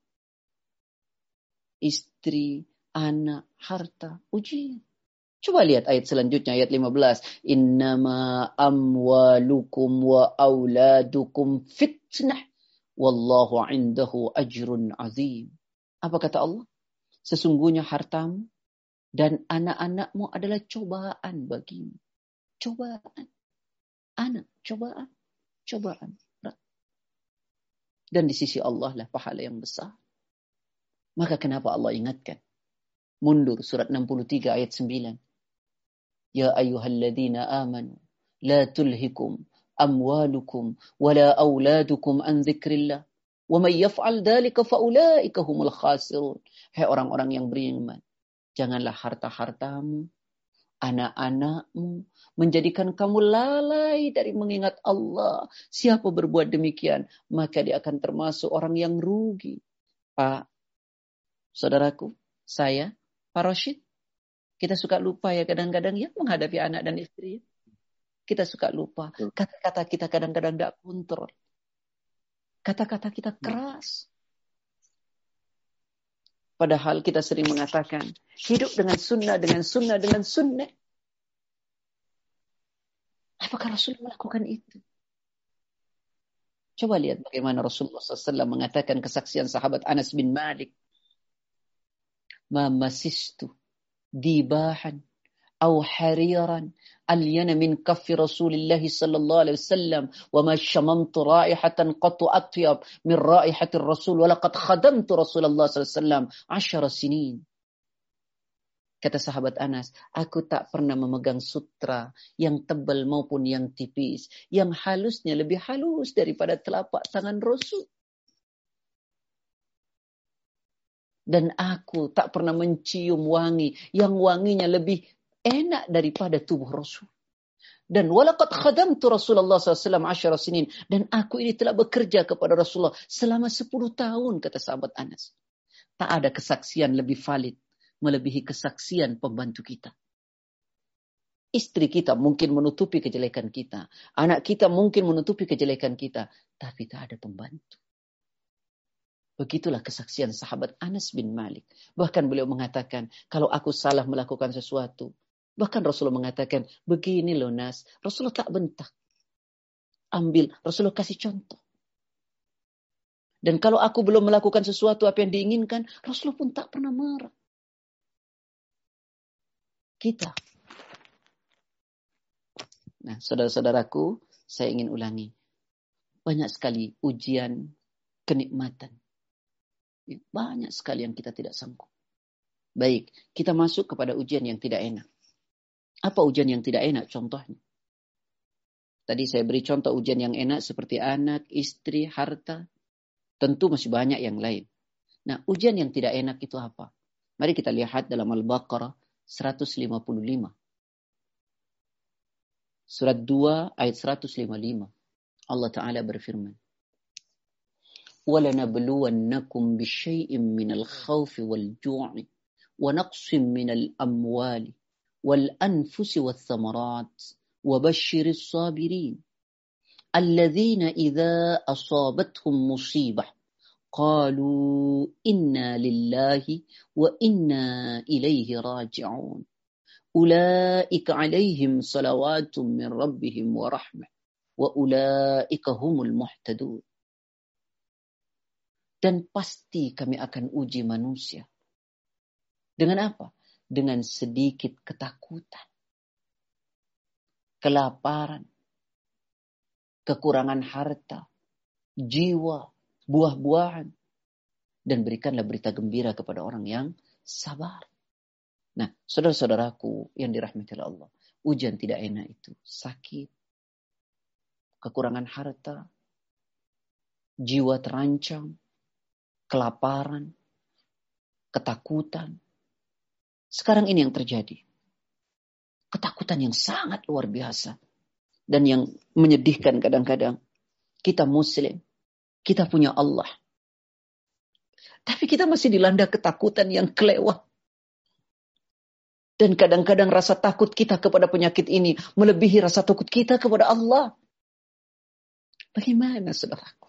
Istri, anak, harta, ujian. Coba lihat ayat selanjutnya, ayat 15. Innama amwalukum wa auladukum fitnah. Wallahu indahu ajrun azim. Apa kata Allah? Sesungguhnya hartamu dan anak-anakmu adalah cobaan bagimu. Cobaan. Anak, cobaan. Cobaan. Dan di sisi Allah lah pahala yang besar. Maka kenapa Allah ingatkan? Mundur surat 63 ayat 9. Ya ayyuhalladzina amanu la tulhikum amwalukum wala auladukum an dzikrillah wa may yaf'al dzalika faulaika humul khasirun. Hai orang-orang yang beriman, janganlah harta-hartamu, anak-anakmu menjadikan kamu lalai dari mengingat Allah. Siapa berbuat demikian, maka dia akan termasuk orang yang rugi. Pak, saudaraku, saya, Pak Rashid, kita suka lupa ya kadang-kadang ya menghadapi anak dan istri. Kita suka lupa. Kata-kata kita kadang-kadang tidak kontrol. Kata-kata kita keras. Padahal kita sering mengatakan, hidup dengan sunnah, dengan sunnah, dengan sunnah. Apakah Rasul melakukan itu? Coba lihat bagaimana Rasulullah SAW mengatakan kesaksian sahabat Anas bin Malik. Ma masistu dibahan أو حريرا ألين من كف رسول الله صلى الله عليه وسلم وما شممت رائحة قط أطيب من رائحة الرسول ولقد خدمت رسول الله صلى الله عليه وسلم 10 سنين. Kata sahabat Anas, aku tak pernah memegang sutra yang tebal maupun yang tipis, yang halusnya lebih halus daripada telapak tangan Rasul. Dan aku tak pernah mencium wangi yang wanginya lebih enak daripada tubuh Rasul. Dan walaqad khadamtu Rasulullah SAW 10 sinin. Dan aku ini telah bekerja kepada Rasulullah selama 10 tahun, kata sahabat Anas. Tak ada kesaksian lebih valid melebihi kesaksian pembantu kita. Istri kita mungkin menutupi kejelekan kita. Anak kita mungkin menutupi kejelekan kita. Tapi tak ada pembantu. Begitulah kesaksian sahabat Anas bin Malik. Bahkan beliau mengatakan, kalau aku salah melakukan sesuatu, bahkan Rasulullah mengatakan, begini loh Nas, Rasulullah tak bentak. Ambil, Rasulullah kasih contoh. Dan kalau aku belum melakukan sesuatu apa yang diinginkan, Rasulullah pun tak pernah marah. Kita. Nah, saudara-saudaraku, saya ingin ulangi. Banyak sekali ujian kenikmatan. Banyak sekali yang kita tidak sanggup. Baik, kita masuk kepada ujian yang tidak enak. Apa ujian yang tidak enak? Contohnya. Tadi saya beri contoh ujian yang enak seperti anak, istri, harta. Tentu masih banyak yang lain. Nah, ujian yang tidak enak itu apa? Mari kita lihat dalam Al-Baqarah 155. Surat 2 ayat 155. Allah Ta'ala berfirman, وَلَنَبْلُوَنَّكُمْ بِشَيْءٍ مِّنَ الْخَوْفِ وَالْجُوعِ وَنَقْصٍ مِّنَ الْأَمْوَالِ وَالْأَنْفُسِ وَالثَّمَرَاتِ وَبَشِّرِ الصَّابِرِينَ الَّذِينَ إِذَا أَصَابَتْهُمْ مُصِيبَةٌ قَالُوا إِنَّا لِلَّهِ وَإِنَّا إِلَيْهِ راجعون أُولَئِكَ عَلَيْهِمْ صَلَوَاتٌ مِّن رَّبِّهِمْ وَرَحْمَةٌ وَأُولَئِكَ هُمُ الْمُهْتَدُونَ. Dan pasti kami akan uji manusia. Dengan apa? Dengan sedikit ketakutan, kelaparan, kekurangan harta, jiwa, buah-buahan. Dan berikanlah berita gembira kepada orang yang sabar. Nah, saudara-saudaraku yang dirahmati Allah, ujian tidak enak itu. Sakit, kekurangan harta, jiwa terancam, kelaparan, ketakutan. Sekarang ini yang terjadi. Ketakutan yang sangat luar biasa. Dan yang menyedihkan kadang-kadang. Kita Muslim. Kita punya Allah. Tapi kita masih dilanda ketakutan yang kelewat. Dan kadang-kadang rasa takut kita kepada penyakit ini melebihi rasa takut kita kepada Allah. Bagaimana saudaraku?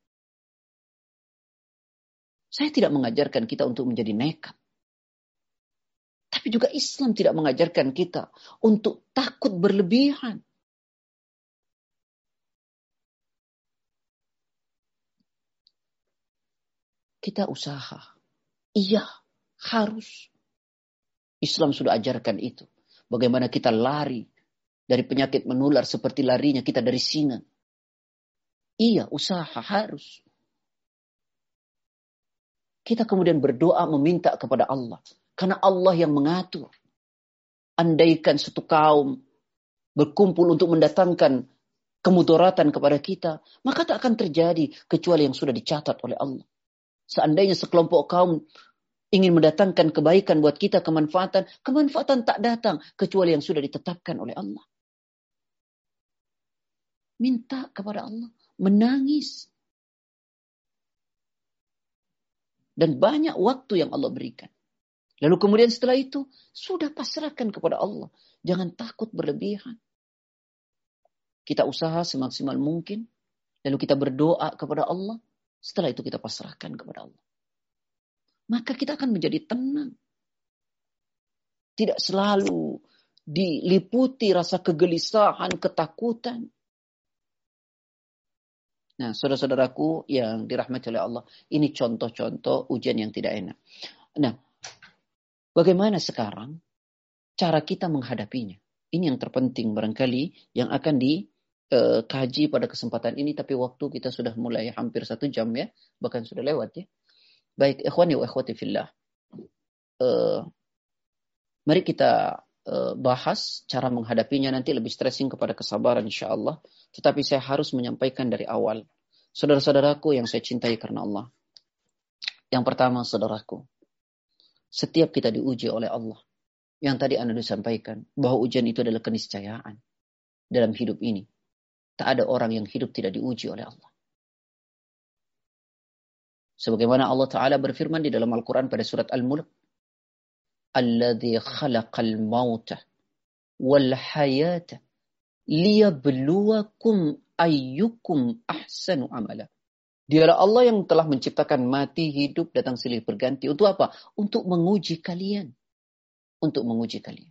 Saya tidak mengajarkan kita untuk menjadi nekat. Tapi juga Islam tidak mengajarkan kita untuk takut berlebihan. Kita usaha. Iya, harus. Islam sudah ajarkan itu. Bagaimana kita lari dari penyakit menular seperti larinya kita dari singa. Iya, usaha harus. Kita kemudian berdoa meminta kepada Allah. Karena Allah yang mengatur. Andaikan satu kaum berkumpul untuk mendatangkan kemudaratan kepada kita, maka tak akan terjadi kecuali yang sudah dicatat oleh Allah. Seandainya sekelompok kaum ingin mendatangkan kebaikan buat kita, kemanfaatan tak datang kecuali yang sudah ditetapkan oleh Allah. Minta kepada Allah, menangis. Dan banyak waktu yang Allah berikan. Lalu kemudian setelah itu, sudah pasrahkan kepada Allah. Jangan takut berlebihan. Kita usaha semaksimal mungkin. Lalu kita berdoa kepada Allah. Setelah itu kita pasrahkan kepada Allah. Maka kita akan menjadi tenang. Tidak selalu diliputi rasa kegelisahan, ketakutan. Nah, saudara-saudaraku yang dirahmati oleh Allah, ini contoh-contoh ujian yang tidak enak. Nah, bagaimana sekarang cara kita menghadapinya? Ini yang terpenting barangkali yang akan dikaji pada kesempatan ini, tapi waktu kita sudah mulai hampir 1 jam ya, bahkan sudah lewat ya. Baik, ikhwani wa ikhwati fillah. Mari kita bahas cara menghadapinya, nanti lebih stressing kepada kesabaran insyaAllah. Tetapi saya harus menyampaikan dari awal. Saudara-saudaraku yang saya cintai karena Allah. Yang pertama saudaraku, setiap kita diuji oleh Allah. Yang tadi Anda disampaikan, bahwa ujian itu adalah keniscayaan dalam hidup ini. Tak ada orang yang hidup tidak diuji oleh Allah. Sebagaimana Allah Ta'ala berfirman di dalam Al-Quran pada surat Al-Mulk. Alladhi khalaqal mauta wal hayata liyabluwakum ayyukum ahsanu amala. Dialah Allah yang telah menciptakan mati, hidup, datang silih berganti. Untuk apa? Untuk menguji kalian. Untuk menguji kalian.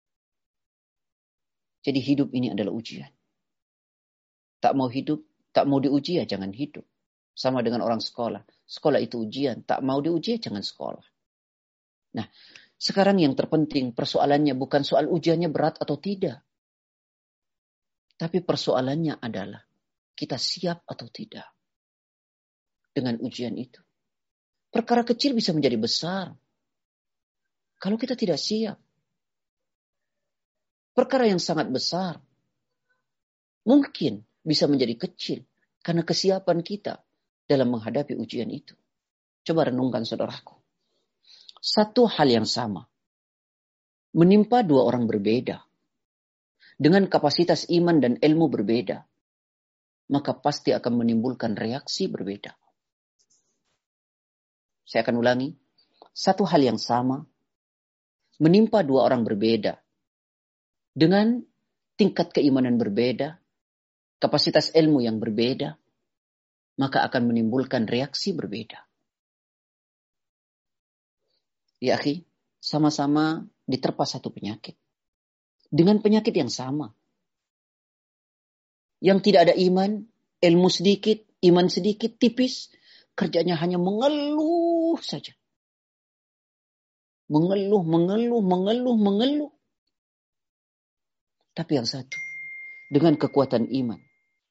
Jadi hidup ini adalah ujian. Tak mau hidup, tak mau diuji ya jangan hidup. Sama dengan orang sekolah. Sekolah itu ujian. Tak mau diuji ya jangan sekolah. Nah, sekarang yang terpenting persoalannya bukan soal ujiannya berat atau tidak. Tapi persoalannya adalah kita siap atau tidak dengan ujian itu. Perkara kecil bisa menjadi besar kalau kita tidak siap. Perkara yang sangat besar mungkin bisa menjadi kecil karena kesiapan kita dalam menghadapi ujian itu. Coba renungkan saudaraku. Satu hal yang sama menimpa dua orang berbeda dengan kapasitas iman dan ilmu berbeda, maka pasti akan menimbulkan reaksi berbeda. Saya akan ulangi. Satu hal yang sama menimpa dua orang berbeda dengan tingkat keimanan berbeda, kapasitas ilmu yang berbeda, maka akan menimbulkan reaksi berbeda. Ya akhi, sama-sama diterpa satu penyakit. Dengan penyakit yang sama. Yang tidak ada iman, ilmu sedikit, iman sedikit, tipis, kerjanya hanya mengeluh saja. Mengeluh. Tapi yang satu, dengan kekuatan iman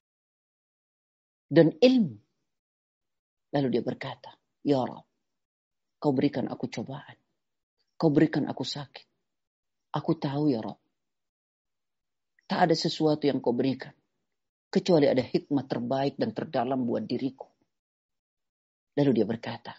dan ilmu, lalu dia berkata, Ya Rabb, kau berikan aku cobaan. Kau berikan aku sakit. Aku tahu ya Rabb. Tak ada sesuatu yang kau berikan. Kecuali ada hikmah terbaik dan terdalam buat diriku. Lalu dia berkata,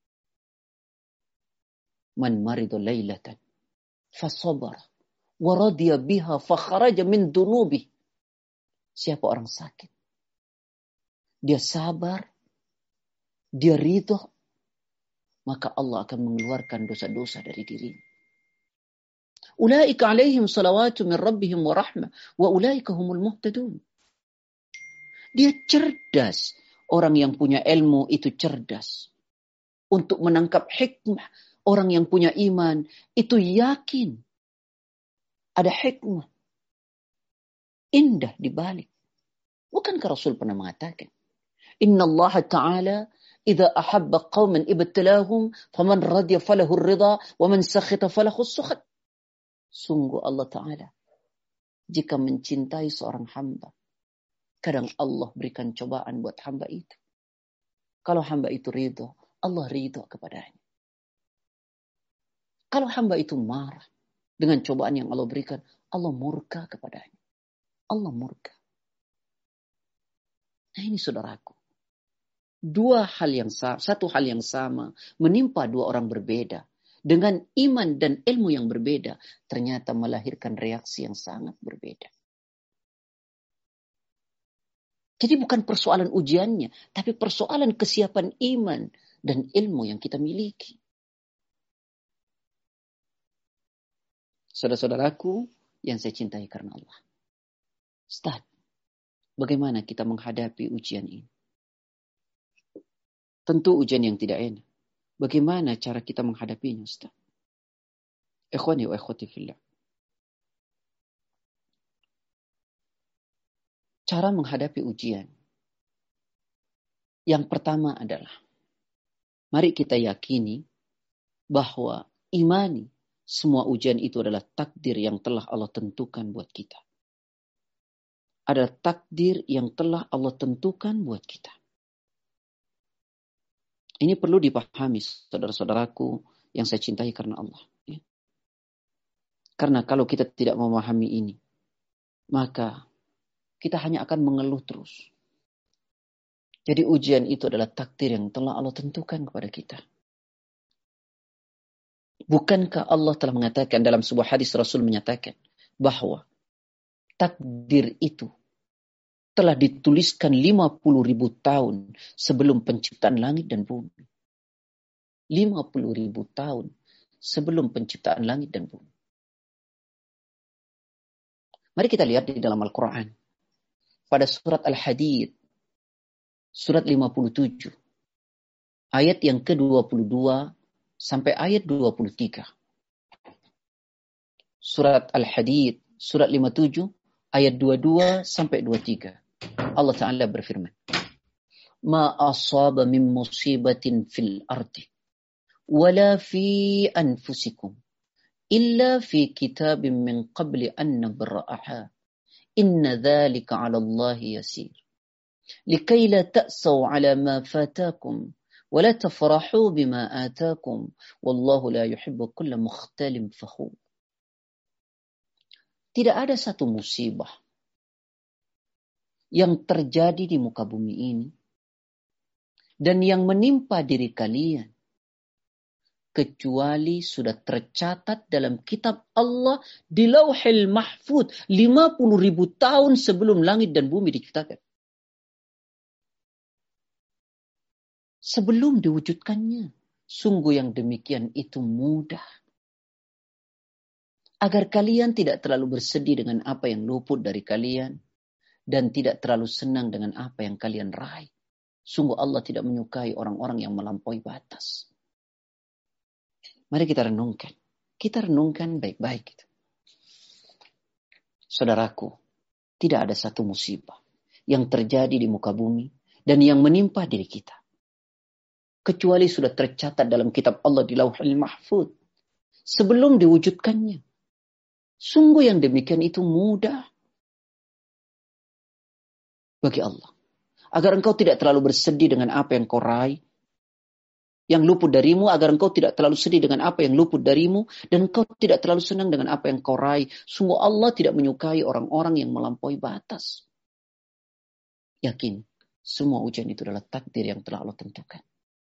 Man maridu laylatan fasabara wa radiya biha fakharaja min dunubi. Siapa orang sakit? Dia sabar. Dia ridho. Maka Allah akan mengeluarkan dosa-dosa dari dirinya. Ulaika alaihim salawatu min rabbihim wa rahmah wa ulaika humul muhtadun. Dia cerdas. Orang yang punya ilmu itu cerdas. Untuk menangkap hikmah. Orang yang punya iman itu yakin. Ada hikmah. Indah di balik. Bukankah Rasul pernah mengatakan, Inna Allah Ta'ala idza ahabba qauman ibtalahum faman radiya falahu ar-ridha wa man sakhita falahu as-sukhat. Sungguh Allah Ta'ala jika mencintai seorang hamba, kadang Allah berikan cobaan buat hamba itu. Kalau hamba itu ridho, Allah ridho kepadanya. Kalau hamba itu marah dengan cobaan yang Allah berikan, Allah murka kepadanya. Allah murka. Nah ini saudaraku. Satu hal yang sama menimpa dua orang berbeda. Dengan iman dan ilmu yang berbeda, ternyata melahirkan reaksi yang sangat berbeda. Jadi bukan persoalan ujiannya, tapi persoalan kesiapan iman dan ilmu yang kita miliki. Saudara-saudaraku yang saya cintai karena Allah. Ustaz, bagaimana kita menghadapi ujian ini? Tentu ujian yang tidak enak. Bagaimana cara kita menghadapinya, Ustaz? Ikhwani wa ikhwati fillah. Cara menghadapi ujian. Yang pertama adalah, mari kita yakini bahwa imani semua ujian itu adalah takdir yang telah Allah tentukan buat kita. Adalah takdir yang telah Allah tentukan buat kita. Ini perlu dipahami saudara-saudaraku yang saya cintai karena Allah. Ya. Karena kalau kita tidak memahami ini, maka kita hanya akan mengeluh terus. Jadi ujian itu adalah takdir yang telah Allah tentukan kepada kita. Bukankah Allah telah mengatakan dalam sebuah hadis Rasul menyatakan bahwa takdir itu telah dituliskan 50.000 tahun sebelum penciptaan langit dan bumi. 50.000 tahun sebelum penciptaan langit dan bumi. Mari kita lihat di dalam Al-Quran. Pada surat Al-Hadid, surat 57. Ayat yang ke-22 sampai ayat 23. Surat Al-Hadid, surat 57, ayat 22 sampai 23. Allah Ta'ala berfirman, Ma asaba min musibatin fil ardi, wala fi anfusikum, illa fi kitabin min qabli an nabra'aha. Inna dhalika 'ala Allah yasir. Likai la ta'saw 'ala ma fatakum, wa la tafrahu bima atakum, wallahu la yuhibbu kulla mukhtalin fakhur. Tidak ada satu musibah yang terjadi di muka bumi ini dan yang menimpa diri kalian, kecuali sudah tercatat dalam kitab Allah di Lauhil Mahfuz 50.000 tahun sebelum langit dan bumi diciptakan. Sebelum diwujudkannya, sungguh yang demikian itu mudah. Agar kalian tidak terlalu bersedih dengan apa yang luput dari kalian, dan tidak terlalu senang dengan apa yang kalian raih. Sungguh Allah tidak menyukai orang-orang yang melampaui batas. Mari kita renungkan. Kita renungkan baik-baik. Saudaraku, tidak ada satu musibah yang terjadi di muka bumi dan yang menimpa diri kita, kecuali sudah tercatat dalam kitab Allah di Lauhul Mahfuz sebelum diwujudkannya. Sungguh yang demikian itu mudah bagi Allah. Agar engkau tidak terlalu bersedih dengan apa yang kau raih, yang luput darimu, agar engkau tidak terlalu sedih dengan apa yang luput darimu, dan engkau tidak terlalu senang dengan apa yang kau raih. Sungguh Allah tidak menyukai orang-orang yang melampaui batas. Yakin, semua ujian itu adalah takdir yang telah Allah tentukan.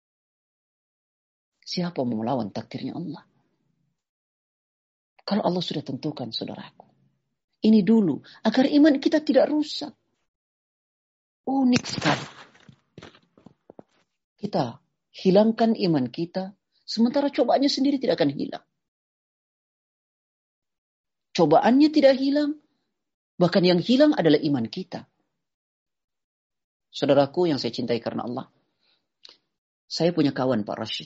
Siapa mau melawan takdirnya Allah? Kalau Allah sudah tentukan, saudaraku. Ini dulu, agar iman kita tidak rusak. Unik sekali. Kita hilangkan iman kita, sementara cobaannya sendiri tidak akan hilang. Cobaannya tidak hilang, bahkan yang hilang adalah iman kita. Saudaraku yang saya cintai karena Allah, saya punya kawan Pak Rashid.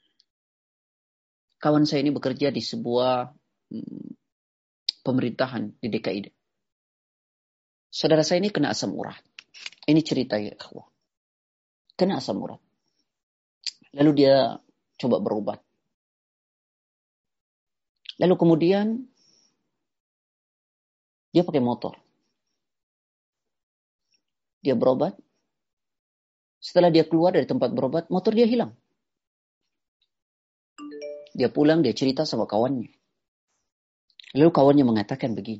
Kawan saya ini bekerja di sebuah pemerintahan di DKI. Saudara saya ini kena asam urat. Ini cerita ya, kena asam urat. Lalu dia coba berobat. Lalu kemudian dia pakai motor. Dia berobat. Setelah dia keluar dari tempat berobat, motor dia hilang. Dia pulang, dia cerita sama kawannya. Lalu kawannya mengatakan begini.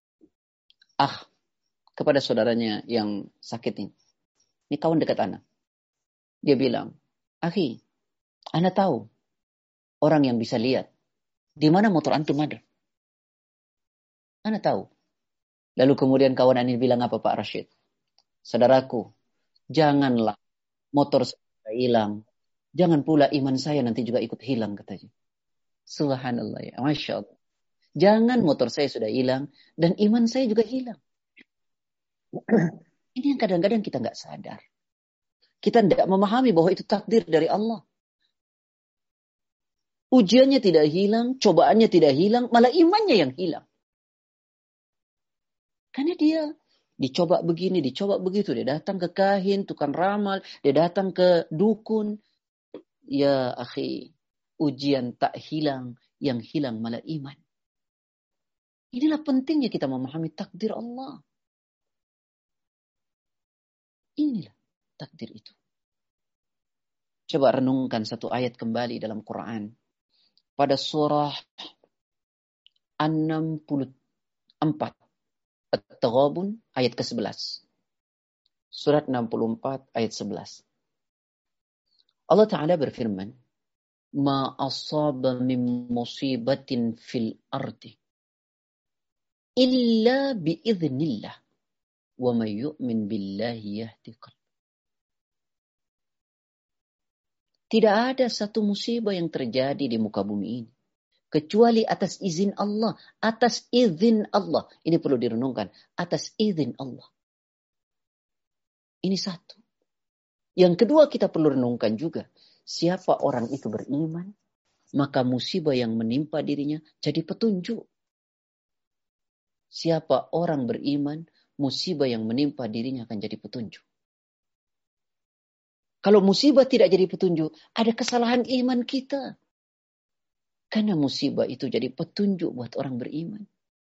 Kepada saudaranya yang sakit ini. Ini kawan dekat Ana. Dia bilang, Akhi, Ana tahu orang yang bisa lihat di mana motor antum ada. Ana tahu. Lalu kemudian kawan Ana bilang apa Pak Rashid? Saudaraku, janganlah motor saya hilang. Jangan pula iman saya nanti juga ikut hilang katanya. Subhanallah ya, Masya Allah. Jangan motor saya sudah hilang dan iman saya juga hilang. Ini yang kadang-kadang kita nggak sadar. Kita tidak memahami bahwa itu takdir dari Allah. Ujiannya tidak hilang, cobaannya tidak hilang, malah imannya yang hilang. Karena dia dicoba begini, dicoba begitu. Dia datang ke kahin, tukang ramal, dia datang ke dukun. Ya akhi, ujian tak hilang, yang hilang malah iman. Inilah pentingnya kita memahami takdir Allah. Inilah takdir itu. Coba renungkan satu ayat kembali dalam Quran. Pada surah 64. At-Taghabun ayat ke-11. Surat 64 ayat 11. Allah Ta'ala berfirman. Ma asaba min musibatin fil ardi. Illa biiznillah. Wa may yu'min billahi yahdi qalbah. Tidak ada satu musibah yang terjadi di muka bumi ini kecuali atas izin Allah, atas izin Allah. Ini perlu direnungkan, atas izin Allah. Ini satu. Yang kedua kita perlu renungkan juga, siapa orang itu beriman, maka musibah yang menimpa dirinya jadi petunjuk. Siapa orang beriman, musibah yang menimpa dirinya akan jadi petunjuk. Kalau musibah tidak jadi petunjuk, ada kesalahan iman kita. Karena musibah itu jadi petunjuk buat orang beriman.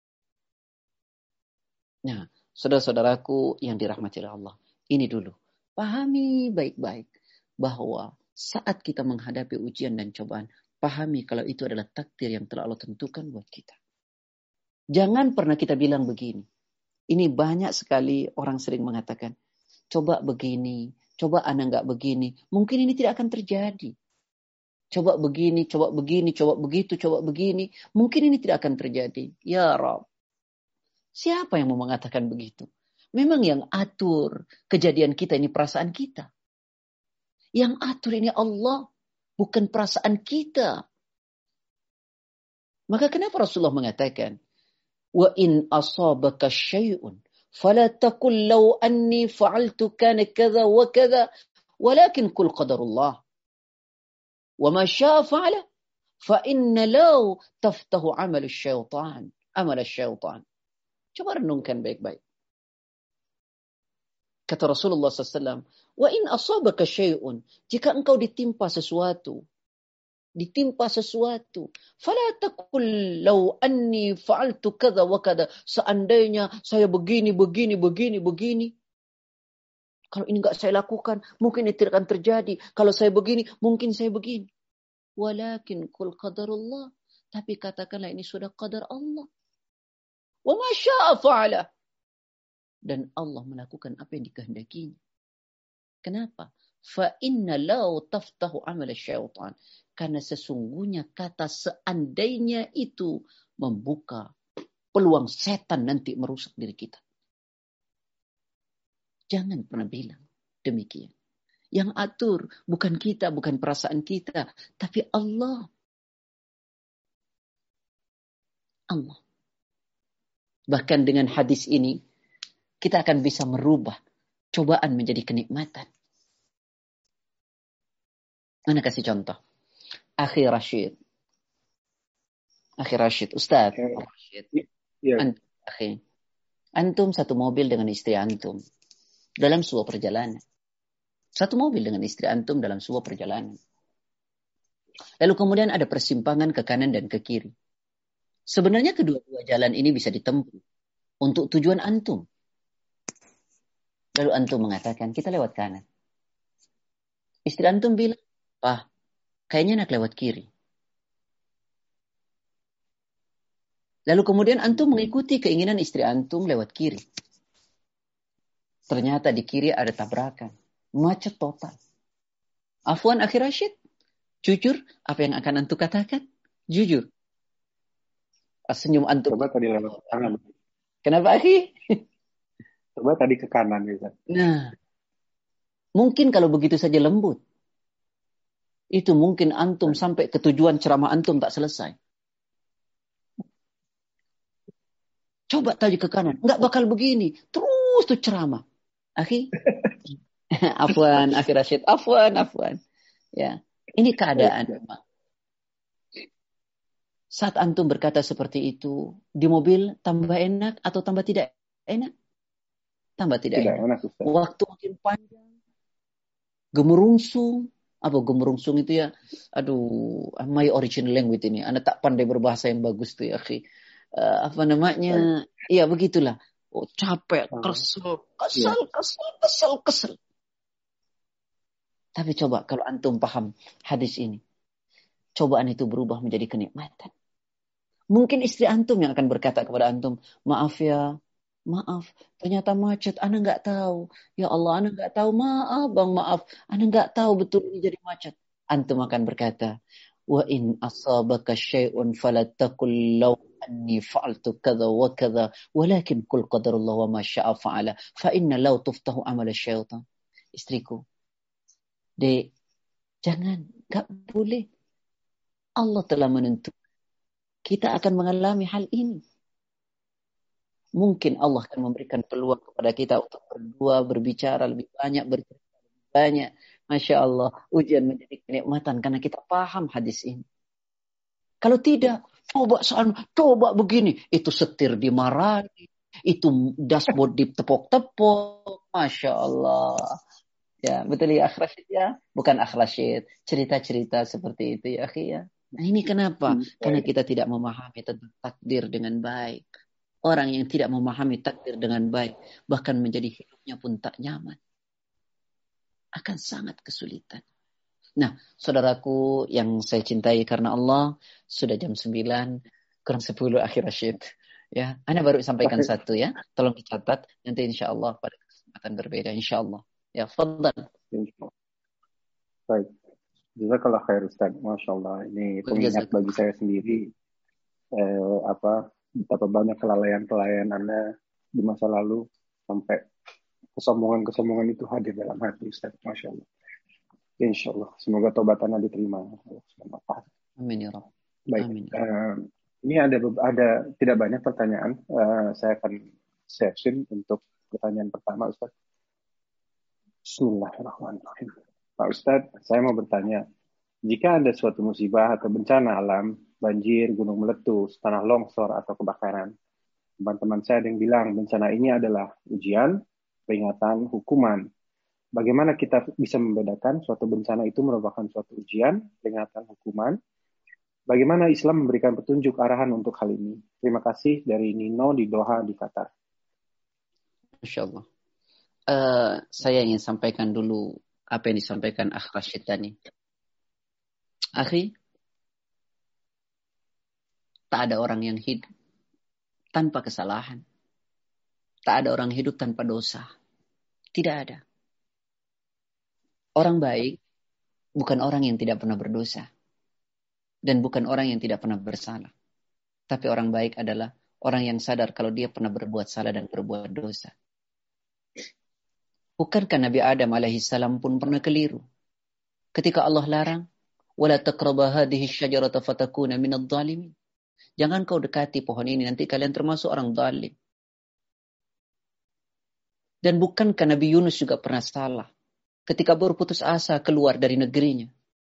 Nah, saudara-saudaraku yang dirahmati Allah, ini dulu. Pahami baik-baik bahwa saat kita menghadapi ujian dan cobaan, pahami kalau itu adalah takdir yang telah Allah tentukan buat kita. Jangan pernah kita bilang begini. Ini banyak sekali orang sering mengatakan, coba begini, Coba ana nggak begini, mungkin ini tidak akan terjadi. Coba begini, coba begini, coba begitu, coba begini, mungkin ini tidak akan terjadi. Ya Rabb, siapa yang mau mengatakan begitu? Memang yang atur kejadian kita ini perasaan kita. Yang atur ini Allah, bukan perasaan kita. Maka kenapa Rasulullah mengatakan, wa in asabaka syai'un fala taqul law anni fa'altu kana kadza wa kadza walakin qul qadarullah wa ma syaa fa'ala fa inna law taftahu amal asy-syaitan. Coba renungkan baik-baik. Kata Rasulullah SAW, wa in asabaka syai'un, jika engkau ditimpa sesuatu, fala taqul law anni fa'altu kadza wa kadza, seandainya saya begini. Kalau ini enggak saya lakukan, mungkin ini tidak akan terjadi. Kalau saya begini, mungkin saya begini. Walakin qul qadarullah, tapi katakanlah ini sudah qadar Allah. Wa ma syaa fa'ala, dan Allah melakukan apa yang dikehendakinya. Kenapa? Fa inna law taftahu amal syaitan, karena sesungguhnya kata seandainya itu membuka peluang setan nanti merusak diri kita. Jangan pernah bilang demikian. Yang atur bukan kita, bukan perasaan kita, tapi Allah. Allah. Bahkan dengan hadis ini, kita akan bisa merubah cobaan menjadi kenikmatan. Mana kasih contoh? Akhi Rashid, Ustaz. Rashid. Ya. Antum satu mobil dengan istri antum dalam sebuah perjalanan. Lalu kemudian ada persimpangan ke kanan dan ke kiri. Sebenarnya kedua-dua jalan ini bisa ditempuh untuk tujuan antum. Lalu antum mengatakan, kita lewat kanan. Istri antum bilang, kayaknya nak lewat kiri. Lalu kemudian antum mengikuti keinginan istri antum lewat kiri. Ternyata di kiri ada tabrakan. Macet total. Afwan Akhi Rashid, jujur apa yang akan antum katakan? Jujur. Senyum antum. Coba tadi lewat kanan. Kenapa Akhi? Coba tadi ke kanan. Bisa. Nah, mungkin kalau begitu saja lembut. Itu mungkin antum sampai ke tujuan ceramah antum tak selesai. Coba tadi ke kanan. Enggak bakal begini. Terus tuh ceramah. Akhi. Afwan, Akhi Rashid. Afwan. Ya. Ini keadaan. Saat antum berkata seperti itu, di mobil tambah enak atau tambah tidak enak? Tambah tidak enak. Waktu makin panjang. Gemerungsung. Apa gemerungsung itu ya? Aduh, my original language ini. Anda tak pandai berbahasa yang bagus tuh ya, akhi. Apa namanya? Iya, begitulah. Oh, capek, kesel. Tapi coba kalau antum paham hadis ini. Cobaan itu berubah menjadi kenikmatan. Mungkin istri antum yang akan berkata kepada antum, maaf, ternyata macet, ana nggak tahu. Ya Allah, ana nggak tahu. Maaf, Bang, maaf. Ana nggak tahu betul ini jadi macet. Antum akan berkata, wa in asabaka syai'un fala taqul law anni fa'altu kadza wa kadza, walakin qul qadarullah wa ma syaa fa'ala, fa inna law tuftahu amal syaitan. Istriku, Dek, jangan, nggak boleh. Allah telah menentukan kita akan mengalami hal ini. Mungkin Allah akan memberikan peluang kepada kita untuk berdua, berbicara lebih banyak, bercerita lebih banyak. Masya Allah, ujian menjadi kenikmatan karena kita paham hadis ini. Kalau tidak, coba begini. Itu setir dimarahi, itu dashboard ditepok-tepok. Masya Allah. Ya, betul ya, Akh Rashid ya? Bukan Akh Rashid. Cerita-cerita seperti itu ya, akhi ya. Nah, ini kenapa? Karena kita tidak memahami tentang takdir dengan baik. Orang yang tidak memahami takdir dengan baik, bahkan menjadi hidupnya pun tak nyaman. Akan sangat kesulitan. Nah, saudaraku yang saya cintai karena Allah, sudah jam 9, kurang 10 Akhi Rashid. Ya, Anda baru sampaikan satu ya. Tolong dicatat, nanti insya Allah pada kesempatan berbeda insya Allah. Ya, fadhal. Insyaallah. Baik. Jazakallah khair Ustaz. Masya Allah. Ini pengingat bagi saya sendiri betapa banyak kelalaian Anda di masa lalu sampai kesombongan itu hadir dalam hati Ustaz. Masya Allah. Insya Allah. Semoga tobat Anda diterima. Amin ya Rabb. Baik. Amin. Ini ada tidak banyak pertanyaan. Saya akan session untuk pertanyaan pertama Ustaz. Bismillahirrahmanirrahim. Pak Ustadz, saya mau bertanya, jika ada suatu musibah atau bencana alam, banjir, gunung meletus, tanah longsor, atau kebakaran, teman-teman saya ada yang bilang bencana ini adalah ujian, peringatan, hukuman. Bagaimana kita bisa membedakan suatu bencana itu merupakan suatu ujian, peringatan, hukuman? Bagaimana Islam memberikan petunjuk arahan untuk hal ini? Terima kasih dari Nino di Doha, di Qatar. Masya Allah. Saya ingin sampaikan dulu apa yang disampaikan Akh Rashid tadi. Akhi, tak ada orang yang hidup tanpa kesalahan. Tak ada orang hidup tanpa dosa. Tidak ada. Orang baik bukan orang yang tidak pernah berdosa. Dan bukan orang yang tidak pernah bersalah. Tapi orang baik adalah orang yang sadar kalau dia pernah berbuat salah dan berbuat dosa. Bukankah Nabi Adam alaihissalam pun pernah keliru? Ketika Allah larang, وَلَا تَقْرَبَ هَذِهِ الشَّجَرَةَ فَتَكُونَ مِنَ الظَّالِمِينَ. Jangan kau dekati pohon ini, nanti kalian termasuk orang zalim. Dan bukankah Nabi Yunus juga pernah salah? Ketika berputus asa keluar dari negerinya.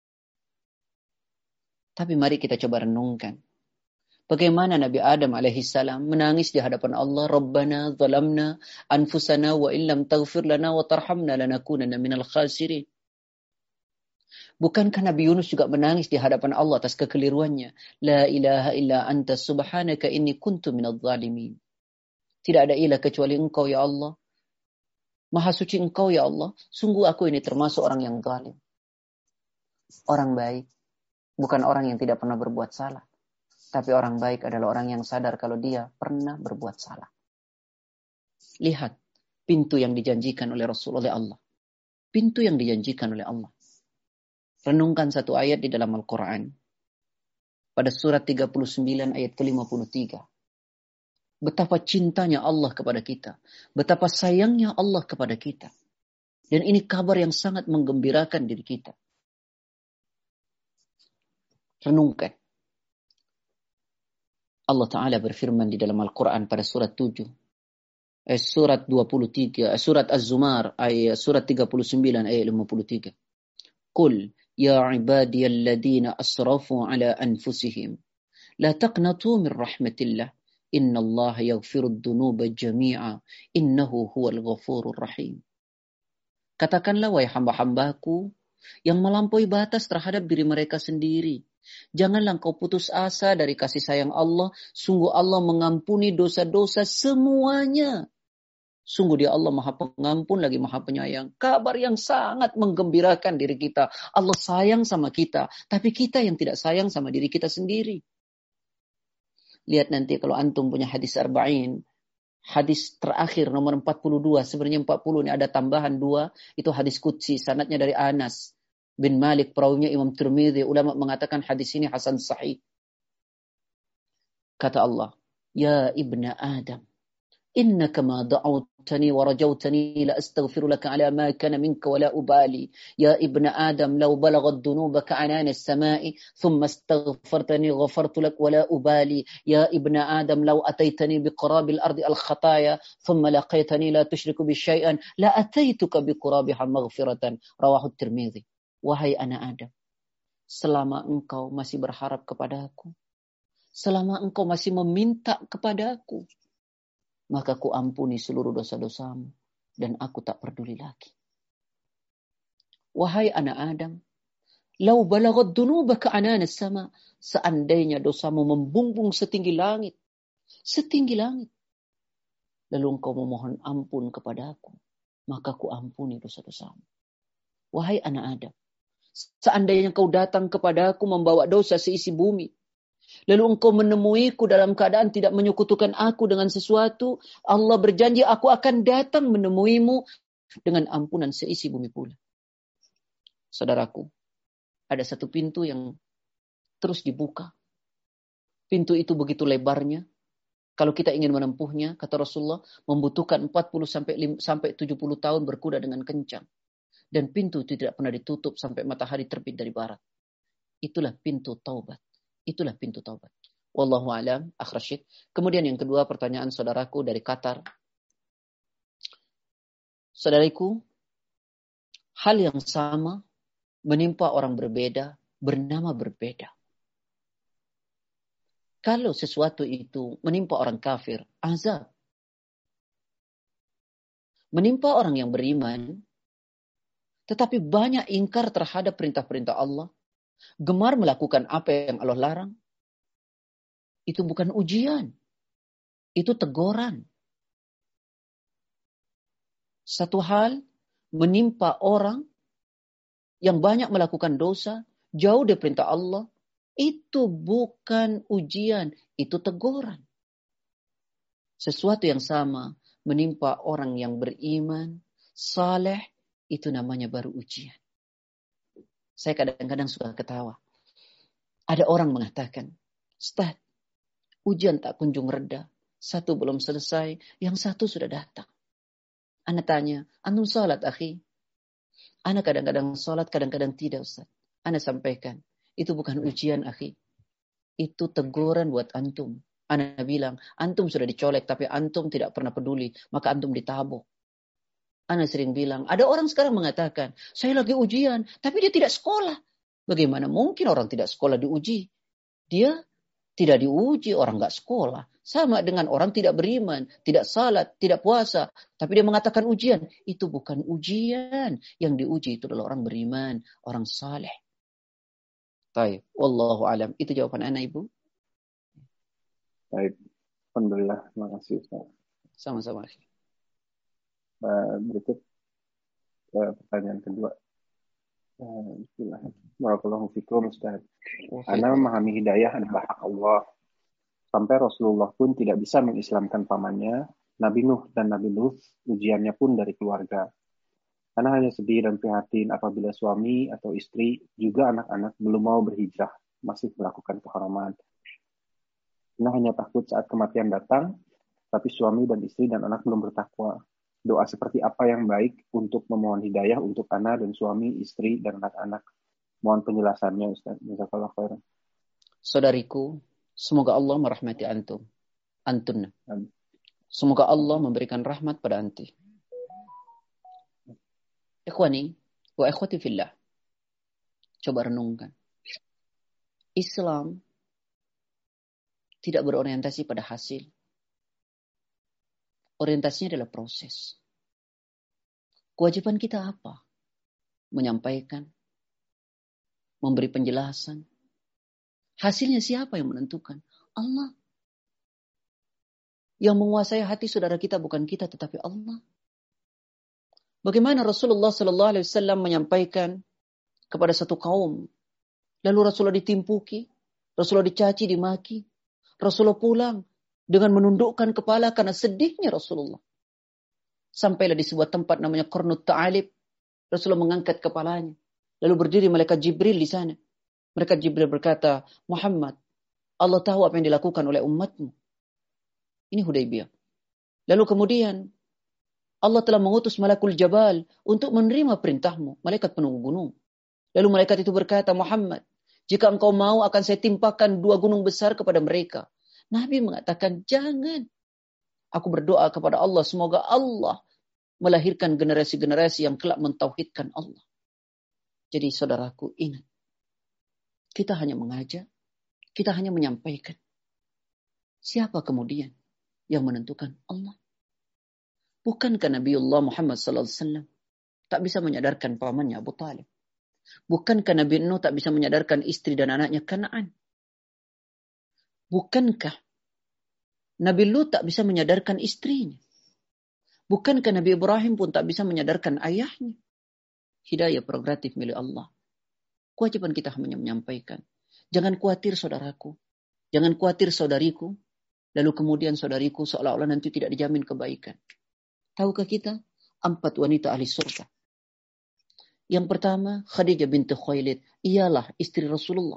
Tapi mari kita coba renungkan. Bagaimana Nabi Adam alaihissalam menangis di hadapan Allah, Rabbana zalamna anfusana wa illam taghfir lana wa tarhamna lanakunanna minal khasirin. Bukankah Nabi Yunus juga menangis di hadapan Allah atas kekeliruannya? La ilaha illa anta subhanaka inni kuntu minadh dhalimin. Tidak ada ilah kecuali Engkau ya Allah. Maha suci Engkau ya Allah. Sungguh aku ini termasuk orang yang zalim. Orang baik bukan orang yang tidak pernah berbuat salah. Tapi orang baik adalah orang yang sadar kalau dia pernah berbuat salah. Lihat pintu yang dijanjikan oleh Rasulullah Allah. Pintu yang dijanjikan oleh Allah. Renungkan satu ayat di dalam Al-Quran. Pada surat 39 ayat ke-53. Betapa cintanya Allah kepada kita. Betapa sayangnya Allah kepada kita. Dan ini kabar yang sangat menggembirakan diri kita. Renungkan. Allah Ta'ala berfirman di dalam Al-Quran pada surat 7. Surat 23. Surat Az-Zumar. Surat 39 ayat 53. Qul ya ibadiyalladina asrafu ala anfusihim. La taqnatu min rahmatillah. Inna Allah yaghfirud dunuba jami'a. Innahu huwal ghafurur rahim. Katakanlah wahai hamba-hambaku yang melampaui batas terhadap diri mereka sendiri. Janganlah engkau putus asa dari kasih sayang Allah. Sungguh Allah mengampuni dosa-dosa semuanya. Sungguh dia Allah Maha Pengampun lagi Maha Penyayang. Kabar yang sangat menggembirakan diri kita. Allah sayang sama kita. Tapi kita yang tidak sayang sama diri kita sendiri. Lihat nanti kalau antum punya hadis arba'in. Hadis terakhir nomor 42. Sebenarnya 40 ini ada tambahan 2. Itu hadis qudsi. Sanadnya dari Anas bin Malik, perawinya Imam Tirmidzi. Ulama mengatakan hadis ini hasan sahih. Kata Allah, ya ibna Adam, innaka ma da'awtani wa rajawtani la astaghfiru laka ala ma kana minka wa la ubali. Ya ibna Adam, law balaghat dhunubaka anana as-sama'i thumma astaghfartani ghafartu lak wa la ubali. Ya ibna Adam, law ataitani biqurabil ardi al-khataya thumma laqaitani la tushriku bi syai'an la ataituka biqurabiha maghfiratan. Rawahu Tirmidzi. Wahai anak Adam, selama engkau masih berharap kepadaku, selama engkau masih meminta kepadaku, maka ku ampuni seluruh dosa-dosamu dan aku tak peduli lagi. Wahai anak Adam, lau balaghat dunubaka anana sama, seandainya dosamu membumbung setinggi langit, lalu engkau memohon ampun kepadaku, maka ku ampuni dosa-dosamu. Wahai anak Adam, seandainya kau datang kepadaku membawa dosa seisi bumi, lalu engkau menemuiku dalam keadaan tidak menyekutukan aku dengan sesuatu, Allah berjanji aku akan datang menemuimu dengan ampunan seisi bumi pula. Saudaraku, ada satu pintu yang terus dibuka. Pintu itu begitu lebarnya. Kalau kita ingin menempuhnya, kata Rasulullah, membutuhkan 40 sampai 70 tahun berkuda dengan kencang. Dan pintu itu tidak pernah ditutup sampai matahari terbit dari barat. Itulah pintu taubat. Itulah pintu taubat. Wallahu a'lam, Akh Rashid. Kemudian yang kedua, pertanyaan saudaraku dari Qatar. Saudariku, hal yang sama menimpa orang berbeda, bernama berbeda. Kalau sesuatu itu menimpa orang kafir, azab. Menimpa orang yang beriman, tetapi banyak ingkar terhadap perintah-perintah Allah, gemar melakukan apa yang Allah larang, itu bukan ujian, itu teguran. Satu hal menimpa orang yang banyak melakukan dosa, jauh dari perintah Allah, itu bukan ujian, itu teguran. Sesuatu yang sama menimpa orang yang beriman, saleh, itu namanya baru ujian. Saya kadang-kadang suka ketawa. Ada orang mengatakan, Ustaz, ujian tak kunjung reda. Satu belum selesai, yang satu sudah datang. Ana tanya, antum salat akhi? Ana kadang-kadang salat, kadang-kadang tidak, Ustaz. Ana sampaikan, itu bukan ujian akhi. Itu teguran buat antum. Ana bilang, antum sudah dicolek tapi antum tidak pernah peduli. Maka antum ditabok. Ana sering bilang, ada orang sekarang mengatakan, saya lagi ujian, tapi dia tidak sekolah. Bagaimana mungkin orang tidak sekolah diuji? Dia tidak diuji, orang nggak sekolah. Sama dengan orang tidak beriman, tidak salat, tidak puasa. Tapi dia mengatakan ujian. Itu bukan ujian. Yang diuji itu adalah orang beriman, orang saleh. Baik, wallahu alam. Itu jawaban ana, Ibu. Baik, alhamdulillah, terima kasih Ustaz. Sama-sama. Berikut pertanyaan kedua. Barakallahu fikum Ustaz. Ana memahami hidayah adalah hak Allah. Sampai Rasulullah pun tidak bisa mengislamkan pamannya, Nabi Nuh dan Nabi Lut, ujiannya pun dari keluarga. Ana hanya sedih dan prihatin apabila suami atau istri, juga anak-anak belum mau berhijrah, masih melakukan keharaman. Ana hanya takut saat kematian datang, tapi suami dan istri dan anak belum bertakwa. Doa seperti apa yang baik untuk memohon hidayah untuk Ana dan suami, istri, dan anak-anak? Mohon penjelasannya, Ustaz. Jazakallahu khairan. Saudariku, semoga Allah merahmati antum. Antun. Semoga Allah memberikan rahmat pada anti. Ikhwani wa ikhwati fillah. Coba renungkan. Islam tidak berorientasi pada hasil. Orientasinya adalah proses. Kewajiban kita apa? Menyampaikan, memberi penjelasan. Hasilnya siapa yang menentukan? Allah. Yang menguasai hati saudara kita bukan kita, tetapi Allah. Bagaimana Rasulullah SAW menyampaikan kepada satu kaum, lalu Rasulullah ditimpuki, Rasulullah dicaci, dimaki, Rasulullah pulang dengan menundukkan kepala karena sedihnya Rasulullah. Sampailah di sebuah tempat namanya Qarnut Ta'alib, Rasulullah mengangkat kepalanya, lalu berdiri malaikat Jibril di sana. Malaikat Jibril berkata, Muhammad, Allah tahu apa yang dilakukan oleh umatmu. Ini Hudaybiyah. Lalu kemudian Allah telah mengutus Malakul Jabal untuk menerima perintahmu, malaikat penunggu gunung. Lalu malaikat itu berkata, Muhammad, jika engkau mau akan saya timpakan 2 gunung besar kepada mereka. Nabi mengatakan, jangan. Aku berdoa kepada Allah, semoga Allah melahirkan generasi-generasi yang kelak mentauhidkan Allah. Jadi saudaraku, ingat. Kita hanya mengajak, kita hanya menyampaikan. Siapa kemudian yang menentukan? Allah. Bukankah Nabiullah Muhammad SAW tak bisa menyadarkan pamannya Abu Talib? Bukankah Nabi Nuh tak bisa menyadarkan istri dan anaknya Kanaan? Bukankah Nabi Lut tak bisa menyadarkan istrinya? Bukankah Nabi Ibrahim pun tak bisa menyadarkan ayahnya? Hidayah prerogatif milik Allah. Kewajiban kita hanya menyampaikan. Jangan khawatir saudaraku. Jangan khawatir saudariku. Lalu kemudian saudariku seolah-olah nanti tidak dijamin kebaikan. Tahukah kita? 4 wanita ahli surga Yang pertama, Khadijah binti Khuwailid. Ialah istri Rasulullah.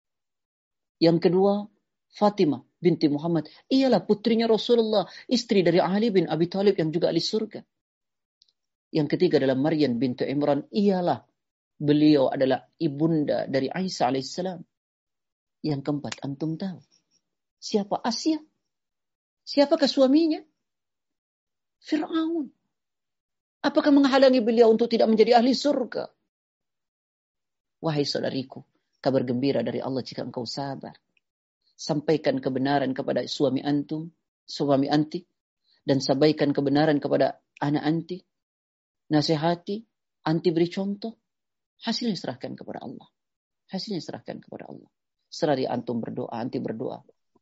Yang kedua, Fatimah binti Muhammad. Ialah putrinya Rasulullah. Istri dari Ali bin Abi Thalib yang juga ahli surga. Yang ketiga adalah Maryam binti Imran. Ialah beliau adalah ibunda dari Isa alaihissalam. Yang keempat, antum tahu siapa Asia? Siapakah suaminya? Fir'aun. Apakah menghalangi beliau untuk tidak menjadi ahli surga? Wahai saudariku, kabar gembira dari Allah jika engkau sabar. Sampaikan kebenaran kepada suami antum, suami anti, dan sampaikan kebenaran kepada anak anti. Nasihati, anti beri contoh. Hasilnya serahkan kepada Allah. Hasilnya serahkan kepada Allah. Serari antum berdoa, anti berdoa.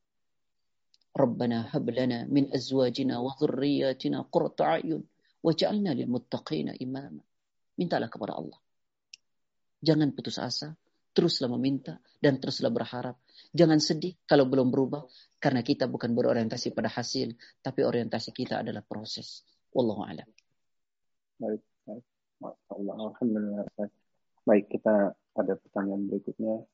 Rabbana hab lana min azwajina wa dhurriyyatina qurrata a'yun waj'alna lil muttaqina imama. Mintalah kepada Allah. Jangan putus asa, teruslah meminta dan teruslah berharap. Jangan sedih kalau belum berubah, karena kita bukan berorientasi pada hasil, tapi orientasi kita adalah proses. Wallahu a'lam. Baik, baik. Masya Allah, alhamdulillah. Baik, kita ada pertanyaan berikutnya.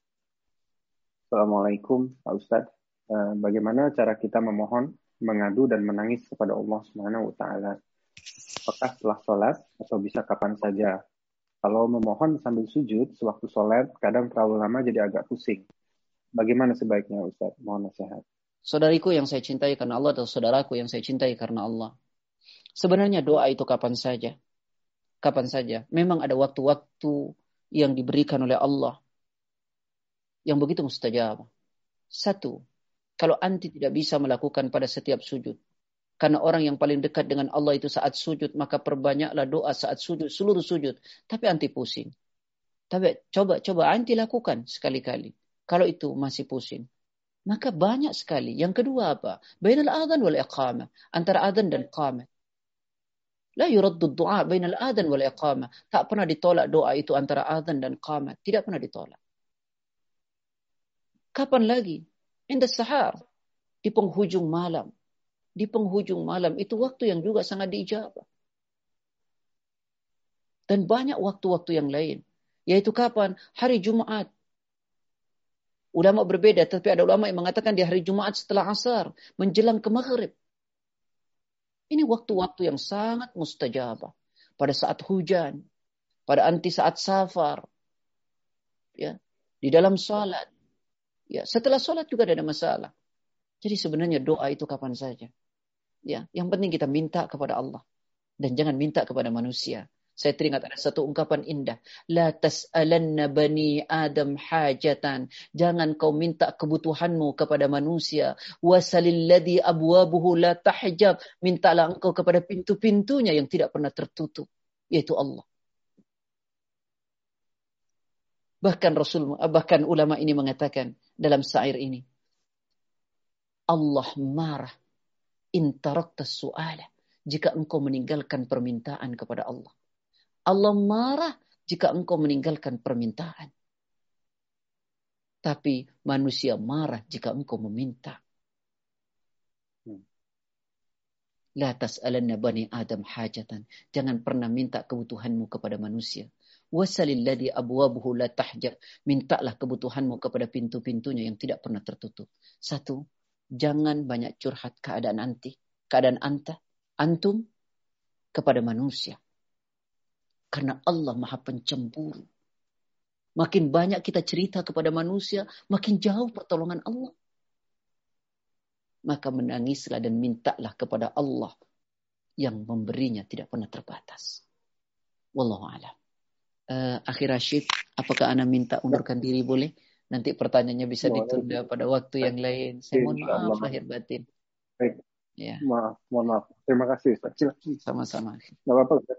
Assalamualaikum, Pak Ustadz. Bagaimana cara kita memohon, mengadu dan menangis kepada Allah Subhanahu wa Ta'ala? Apakah setelah sholat atau bisa kapan saja? Kalau memohon sambil sujud sewaktu sholat, kadang terlalu lama jadi agak pusing. Bagaimana sebaiknya, Ustadz? Mohon nasihat. Saudariku yang saya cintai karena Allah atau saudaraku yang saya cintai karena Allah. Sebenarnya doa itu kapan saja. Kapan saja. Memang ada waktu-waktu yang diberikan oleh Allah yang begitu mustajab. Satu, kalau anti tidak bisa melakukan pada setiap sujud. Karena orang yang paling dekat dengan Allah itu saat sujud, maka perbanyaklah doa saat sujud, seluruh sujud. Tapi anti pusing. Tapi coba anti lakukan sekali-kali. Kalau itu masih pusing, maka banyak sekali. Yang kedua apa? Bainal adhan wal iqamah. Antara adhan dan iqamah. La yuraddu du'a bainal adhan wal iqamah. Tak pernah ditolak doa itu antara adhan dan iqamah. Tidak pernah ditolak. Kapan lagi? Indah sahar. Di penghujung malam. Di penghujung malam itu waktu yang juga sangat diijabah. Dan banyak waktu-waktu yang lain. Yaitu kapan? Hari Jumat. Ulama berbeda, tapi ada ulama yang mengatakan di hari Jumat setelah asar, menjelang ke maghrib. Ini waktu-waktu yang sangat mustajabah. Pada saat hujan, pada anti saat safar, ya, di dalam salat. Ya, setelah salat juga ada masalah. Jadi sebenarnya doa itu kapan saja. Ya, yang penting kita minta kepada Allah dan jangan minta kepada manusia. Saya teringat ada satu ungkapan indah. La tas'alanna bani Adam hajatan. Jangan kau minta kebutuhanmu kepada manusia. Wasalil ladzi abwabuhu la tahjab. Mintalah engkau kepada pintu-pintunya yang tidak pernah tertutup, yaitu Allah. Bahkan ulama ini mengatakan dalam syair ini, Allah marah in tarakta su'ala, jika engkau meninggalkan permintaan kepada Allah. Allah marah jika engkau meninggalkan permintaan. Tapi manusia marah jika engkau meminta. La tas'alanna bani Adam hajatan. Jangan pernah minta kebutuhanmu kepada manusia. Wasalil ladzi abwabuhu la tahjab. Mintalah kebutuhanmu kepada pintu-pintunya yang tidak pernah tertutup. Satu, jangan banyak curhat keadaan antum kepada manusia. Karena Allah Maha Pencemburu. Makin banyak kita cerita kepada manusia, makin jauh pertolongan Allah. Maka menangislah dan mintalah kepada Allah yang memberinya tidak pernah terbatas. Wallahu a'lam. Akhir Rashid, apakah Ana minta undurkan diri boleh? Nanti pertanyaannya bisa ditunda pada waktu yang lain. Saya mohon maaf lahir batin. Baik. Ya. Mohon maaf. Terima kasih, Ustaz. Sama-sama. Enggak apa-apa, Ustaz.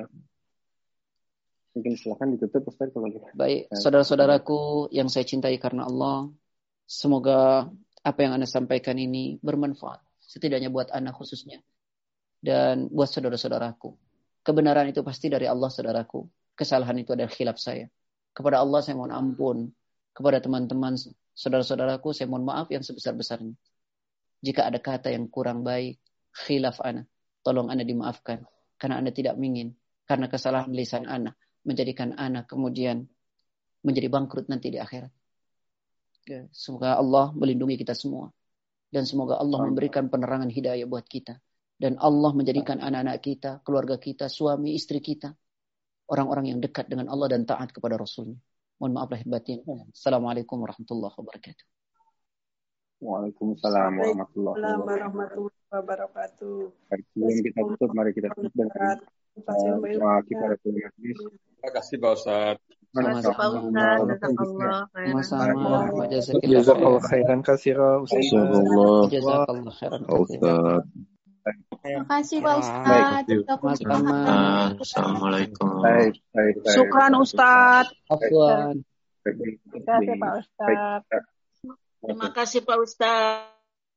Mungkin silakan ditutup, Ustaz, kalau gitu. Baik, saudara-saudaraku yang saya cintai karena Allah, semoga apa yang Anda sampaikan ini bermanfaat, setidaknya buat Anda khususnya, dan buat saudara-saudaraku. Kebenaran itu pasti dari Allah, saudaraku. Kesalahan itu adalah khilaf saya. Kepada Allah saya mohon ampun. Kepada teman-teman, saudara-saudaraku, saya mohon maaf yang sebesar-besarnya. Jika ada kata yang kurang baik, khilaf Anda, tolong Anda dimaafkan. Karena Anda tidak ingin, karena kesalahan lisan Anda, menjadikan ana kemudian menjadi bangkrut nanti di akhirat. Ya, semoga Allah melindungi kita semua. Dan semoga Allah memberikan penerangan hidayah buat kita. Dan Allah menjadikan anak-anak kita, keluarga kita, suami, istri kita, orang-orang yang dekat dengan Allah dan taat kepada Rasulnya. Mohon maaf lahir batin. Assalamualaikum warahmatullahi wabarakatuh. Waalaikumsalam warahmatullahi wabarakatuh. Sebelum kita tutup, mari kita tutup dengan doa kita dari majelis. Terima kasih Pak Ustadz. Terima kasih Pak Ustadz. Sama-sama. Jazakallah khairan katsira. Jazakallah khairan katsira. Terima kasih Pak Ustadz. Sama-sama. Assalamualaikum. Baik. Syukran Ustadz. Afwan. Terima kasih Pak Ustadz. Terima kasih Pak Ustadz.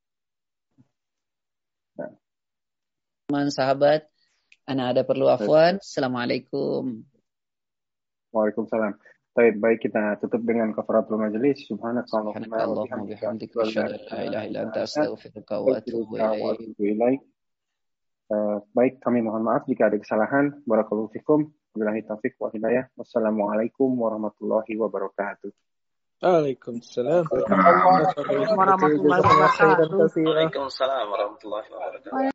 Teman sahabat, ana ada perlu afwan. Assalamualaikum. Waalaikumsalam. Baik, kita tutup dengan kafaratul majelis. Subhanakallahumma wa bihamdika asyhadu an la ilaha illa anta astaghfiruka wa atubu ilaik. Baik, kami mohon maaf jika ada kesalahan. Barakallahu fikum. Wabillahi taufiq wa hidayah. Wassalamualaikum warahmatullahi wabarakatuh. Waalaikumsalam warahmatullahi wabarakatuh. Jazakallah khairan katsira. Waalaikumsalam warahmatullahi wabarakatuh.